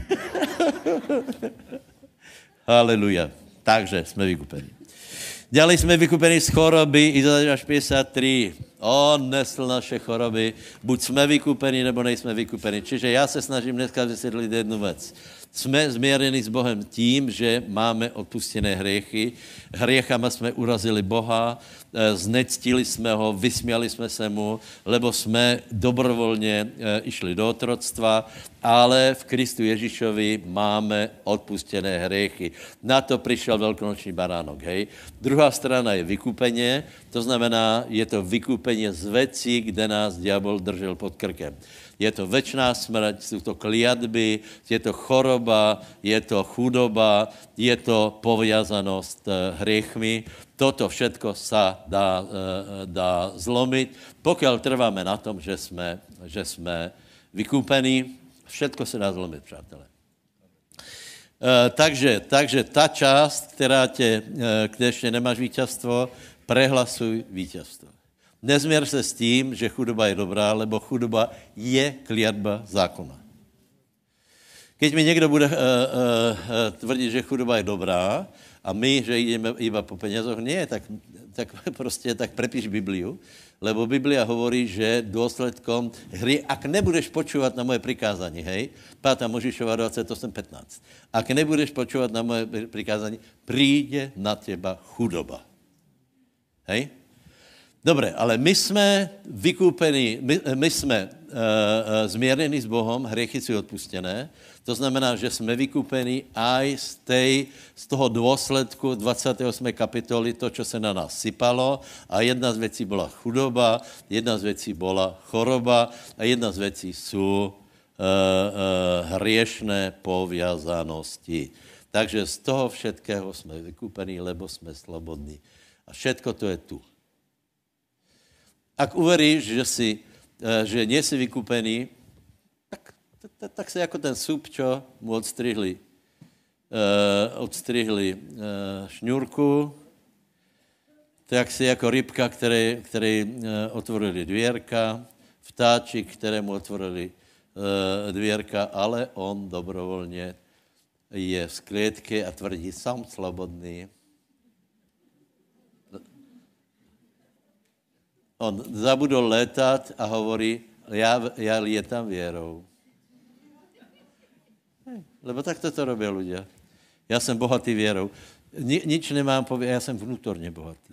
Haleluja. Takže jsme vykupeni. Ďalej jsme vykupeni z choroby, Izajáš päťdesiattri. On nesl naše choroby. Buď jsme vykupeni, nebo nejsme vykupeni. Čiže já se snažím dneska vysvětlit jednu věc. Jsme změreni s Bohem tím, že máme odpustené hriechy. Hriechama jsme urazili Boha, znectili jsme ho, vysmiali jsme se mu, lebo jsme dobrovolně išli do otroctva, ale v Kristu Ježišovi máme odpustené hriechy. Na to přišel velkonoční baránok, hej. Druhá strana je vykupenie, to znamená, je to vykupenie z vecí, kde nás diabol držel pod krkem. Je to večná smrť, jsou to kliatby, je to choroba, je to chudoba, je to poviazanost hriechmi. Toto všetko sa dá, dá zlomit, pokud trváme na tom, že jsme, že jsme vykúpení. Všetko se dá zlomit, přátelé. Takže, takže ta část, která tě, kde ještě nemáš víťazstvo, prehlasuj víťazstvo. Nezměr se s tím, že chudoba je dobrá, lebo chudoba je kliatba zákona. Keď mi někdo bude uh, uh, tvrdit, že chudoba je dobrá a my, že jdeme iba po penězoch, nie, tak, tak prostě tak prepíš Bibliu, lebo Biblia hovorí, že důsledkom hry, ak nebudeš počúvať na moje prikázání, hej, páta Možišova dvadsaťosem pätnásť, ak nebudeš počúvať na moje prikázání, príde na teba chudoba. Hej? Dobre, ale my jsme vykúpení, my, my jsme uh, uh, zmierení s Bohom, hriechy sú odpustené, to znamená, že jsme vykúpení aj z, tej, z toho dôsledku dvadsiatej ôsmej kapitoly, to, čo se na nás sypalo, a jedna z vecí bola chudoba, jedna z vecí bola choroba a jedna z vecí sú uh, uh, hriešné poviazanosti. Takže z toho všetkého jsme vykúpení, lebo jsme slobodní. A všetko to je tu. Ak uveríš, že, si, že nie si vykúpený, tak, tak, tak si ako ten súb, čo mu odstrihli, uh, odstrihli uh, šňůrku, tak si ako rybka, které, které uh, otvorili dvierka, vtáčik, kterému otvorili uh, dvierka, ale on dobrovolně je v sklietke a tvrdí, som slobodný. On zabudol létat a hovorí, já, já lietam vierou. Lebo tak to robí ľudia. Já jsem bohatý vierou. Ni, nič nemám povědět, já jsem vnútorně bohatý.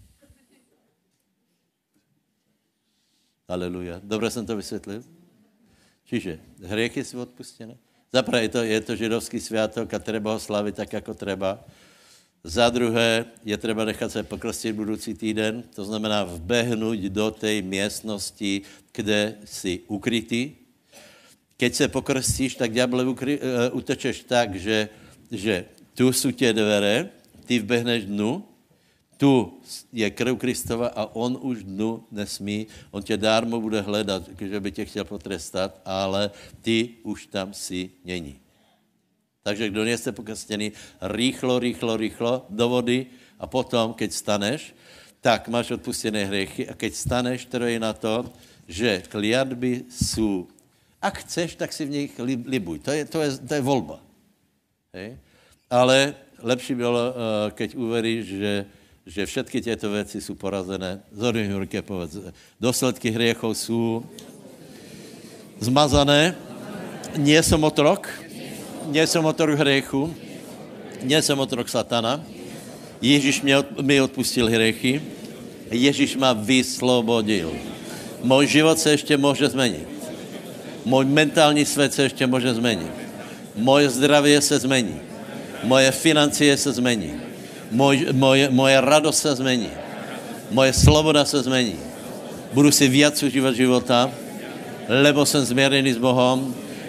Aleluja. Dobre jsem to vysvětlil? Čiže hriechy sú odpustené. Zaprvé je to, je to židovský sviatok a treba ho slavit tak, jako treba. Za druhé je třeba nechat se pokrstit budoucí týden, to znamená vbehnout do té místnosti, kde jsi ukrytý. Keď se pokrstíš, tak ďáble ukry, uh, utečeš tak, že, že tu jsou tě dvere, ty vbehneš dnu, tu je krv Kristova a on už dnu nesmí, on tě dármo bude hledat, že by tě chtěl potrestat, ale ty už tam si není. Takže kdo nie ste pokrstený, rýchlo, rýchlo, rýchlo do vody a potom, keď staneš, tak máš odpustené hriechy a keď staneš, to je na to, že kliatby sú, ak chceš, tak si v nich libuj. To je, to je, to je voľba. Hej? Ale lepší bylo, keď uveríš, že, že všetky tieto veci sú porazené. Zodvihni ruky, povedz. Dôsledky hriechov sú zmazané. Nie som otrok. Nie som otrok hriechu, nie som otrok satana. Ježíš mě od, mi odpustil hriechy, Ježíš ma vyslobodil. Môj život se ještě může změnit. Můj mentální svět se ještě může změnit. Moje zdravie se změní. Moje financie se změní. Moj, moje, moje radost se změní. Moje sloboda se změní. Budu si viac užívat života, lebo jsem změrený s Bohom.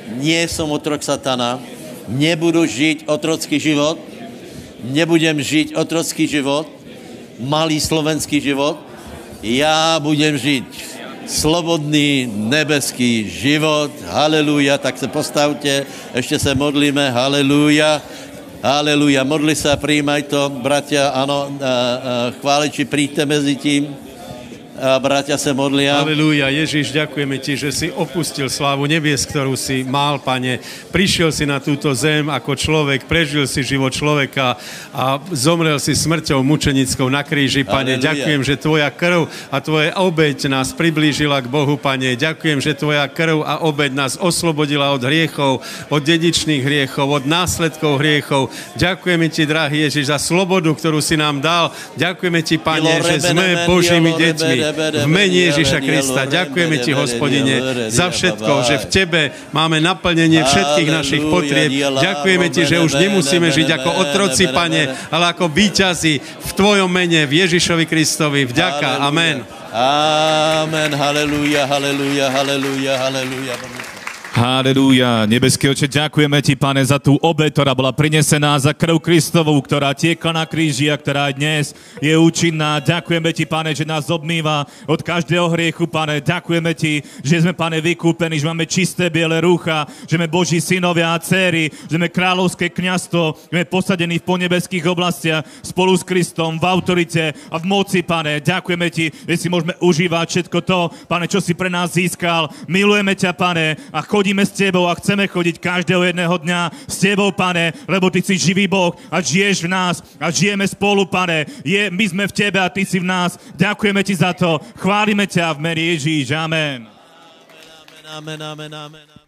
nie som otrok satana, nebudu žiť otrocký život, nebudem žiť otrocký život, malý slovenský život, ja budem žiť slobodný nebeský život, halelúja, tak se postavte, ešte se modlíme, halelúja, halelúja, modli sa, prijímaj to, bratia, ano, chváliči, príďte mezi tím, a bratia sa modlia. Halelúja, Ježiš, ďakujeme ti, že si opustil slávu nebies, ktorú si mal, Pane. Prišiel si na túto zem ako človek, prežil si život človeka a zomrel si smrťou mučenickou na kríži, Pane. Halelúja. Ďakujem, že tvoja krv a tvoja obeť nás priblížila k Bohu, Pane. Ďakujem, že tvoja krv a obeť nás oslobodila od hriechov, od dedičných hriechov, od následkov hriechov. Ďakujeme ti, drahý Ježiš, za slobodu, ktorú si nám dal. Ďakujeme ti, Pane, že sme Božími deťmi. V mene Ježiša Krista. Ďakujeme ti, Hospodine, za všetko, že v tebe máme naplnenie všetkých našich potrieb. Ďakujeme ti, že už nemusíme žiť ako otroci, Pane, ale ako víťazi v tvojom mene, v Ježišovi Kristovi. Vďaka. Amen. Amen. Halelúja, halelúja, halelúja, halelúja. Halelúja. Nebeský Oče, ďakujeme ti, Pane, za tú obeť, ktorá bola prinesená, za krv Kristovú, ktorá tiekla na kríži a ktorá dnes je účinná. Ďakujeme ti, Pane, že nás obmýva od každého hriechu, Pane. Ďakujeme ti, že sme, Pane, vykúpení, že máme čisté biele rúcha, že sme Boží synovia a dcéry, že sme kráľovské kňazstvo, že sme posadení v ponebeských oblastiach spolu s Kristom v autorite a v moci, Pane. Ďakujeme ti, že si môžeme užívať všetko to, Pane, čo si pre nás získal. Milujeme ťa, Pane, a chodíme s tebou a chceme chodiť každého jedného dňa s tebou, Pane, lebo ty si živý Boh a žiješ v nás a žijeme spolu, Pane. Je, my sme v tebe a ty si v nás. Ďakujeme ti za to. Chválime ťa v mene Ježíš. Amen. Amen, amen, amen, amen.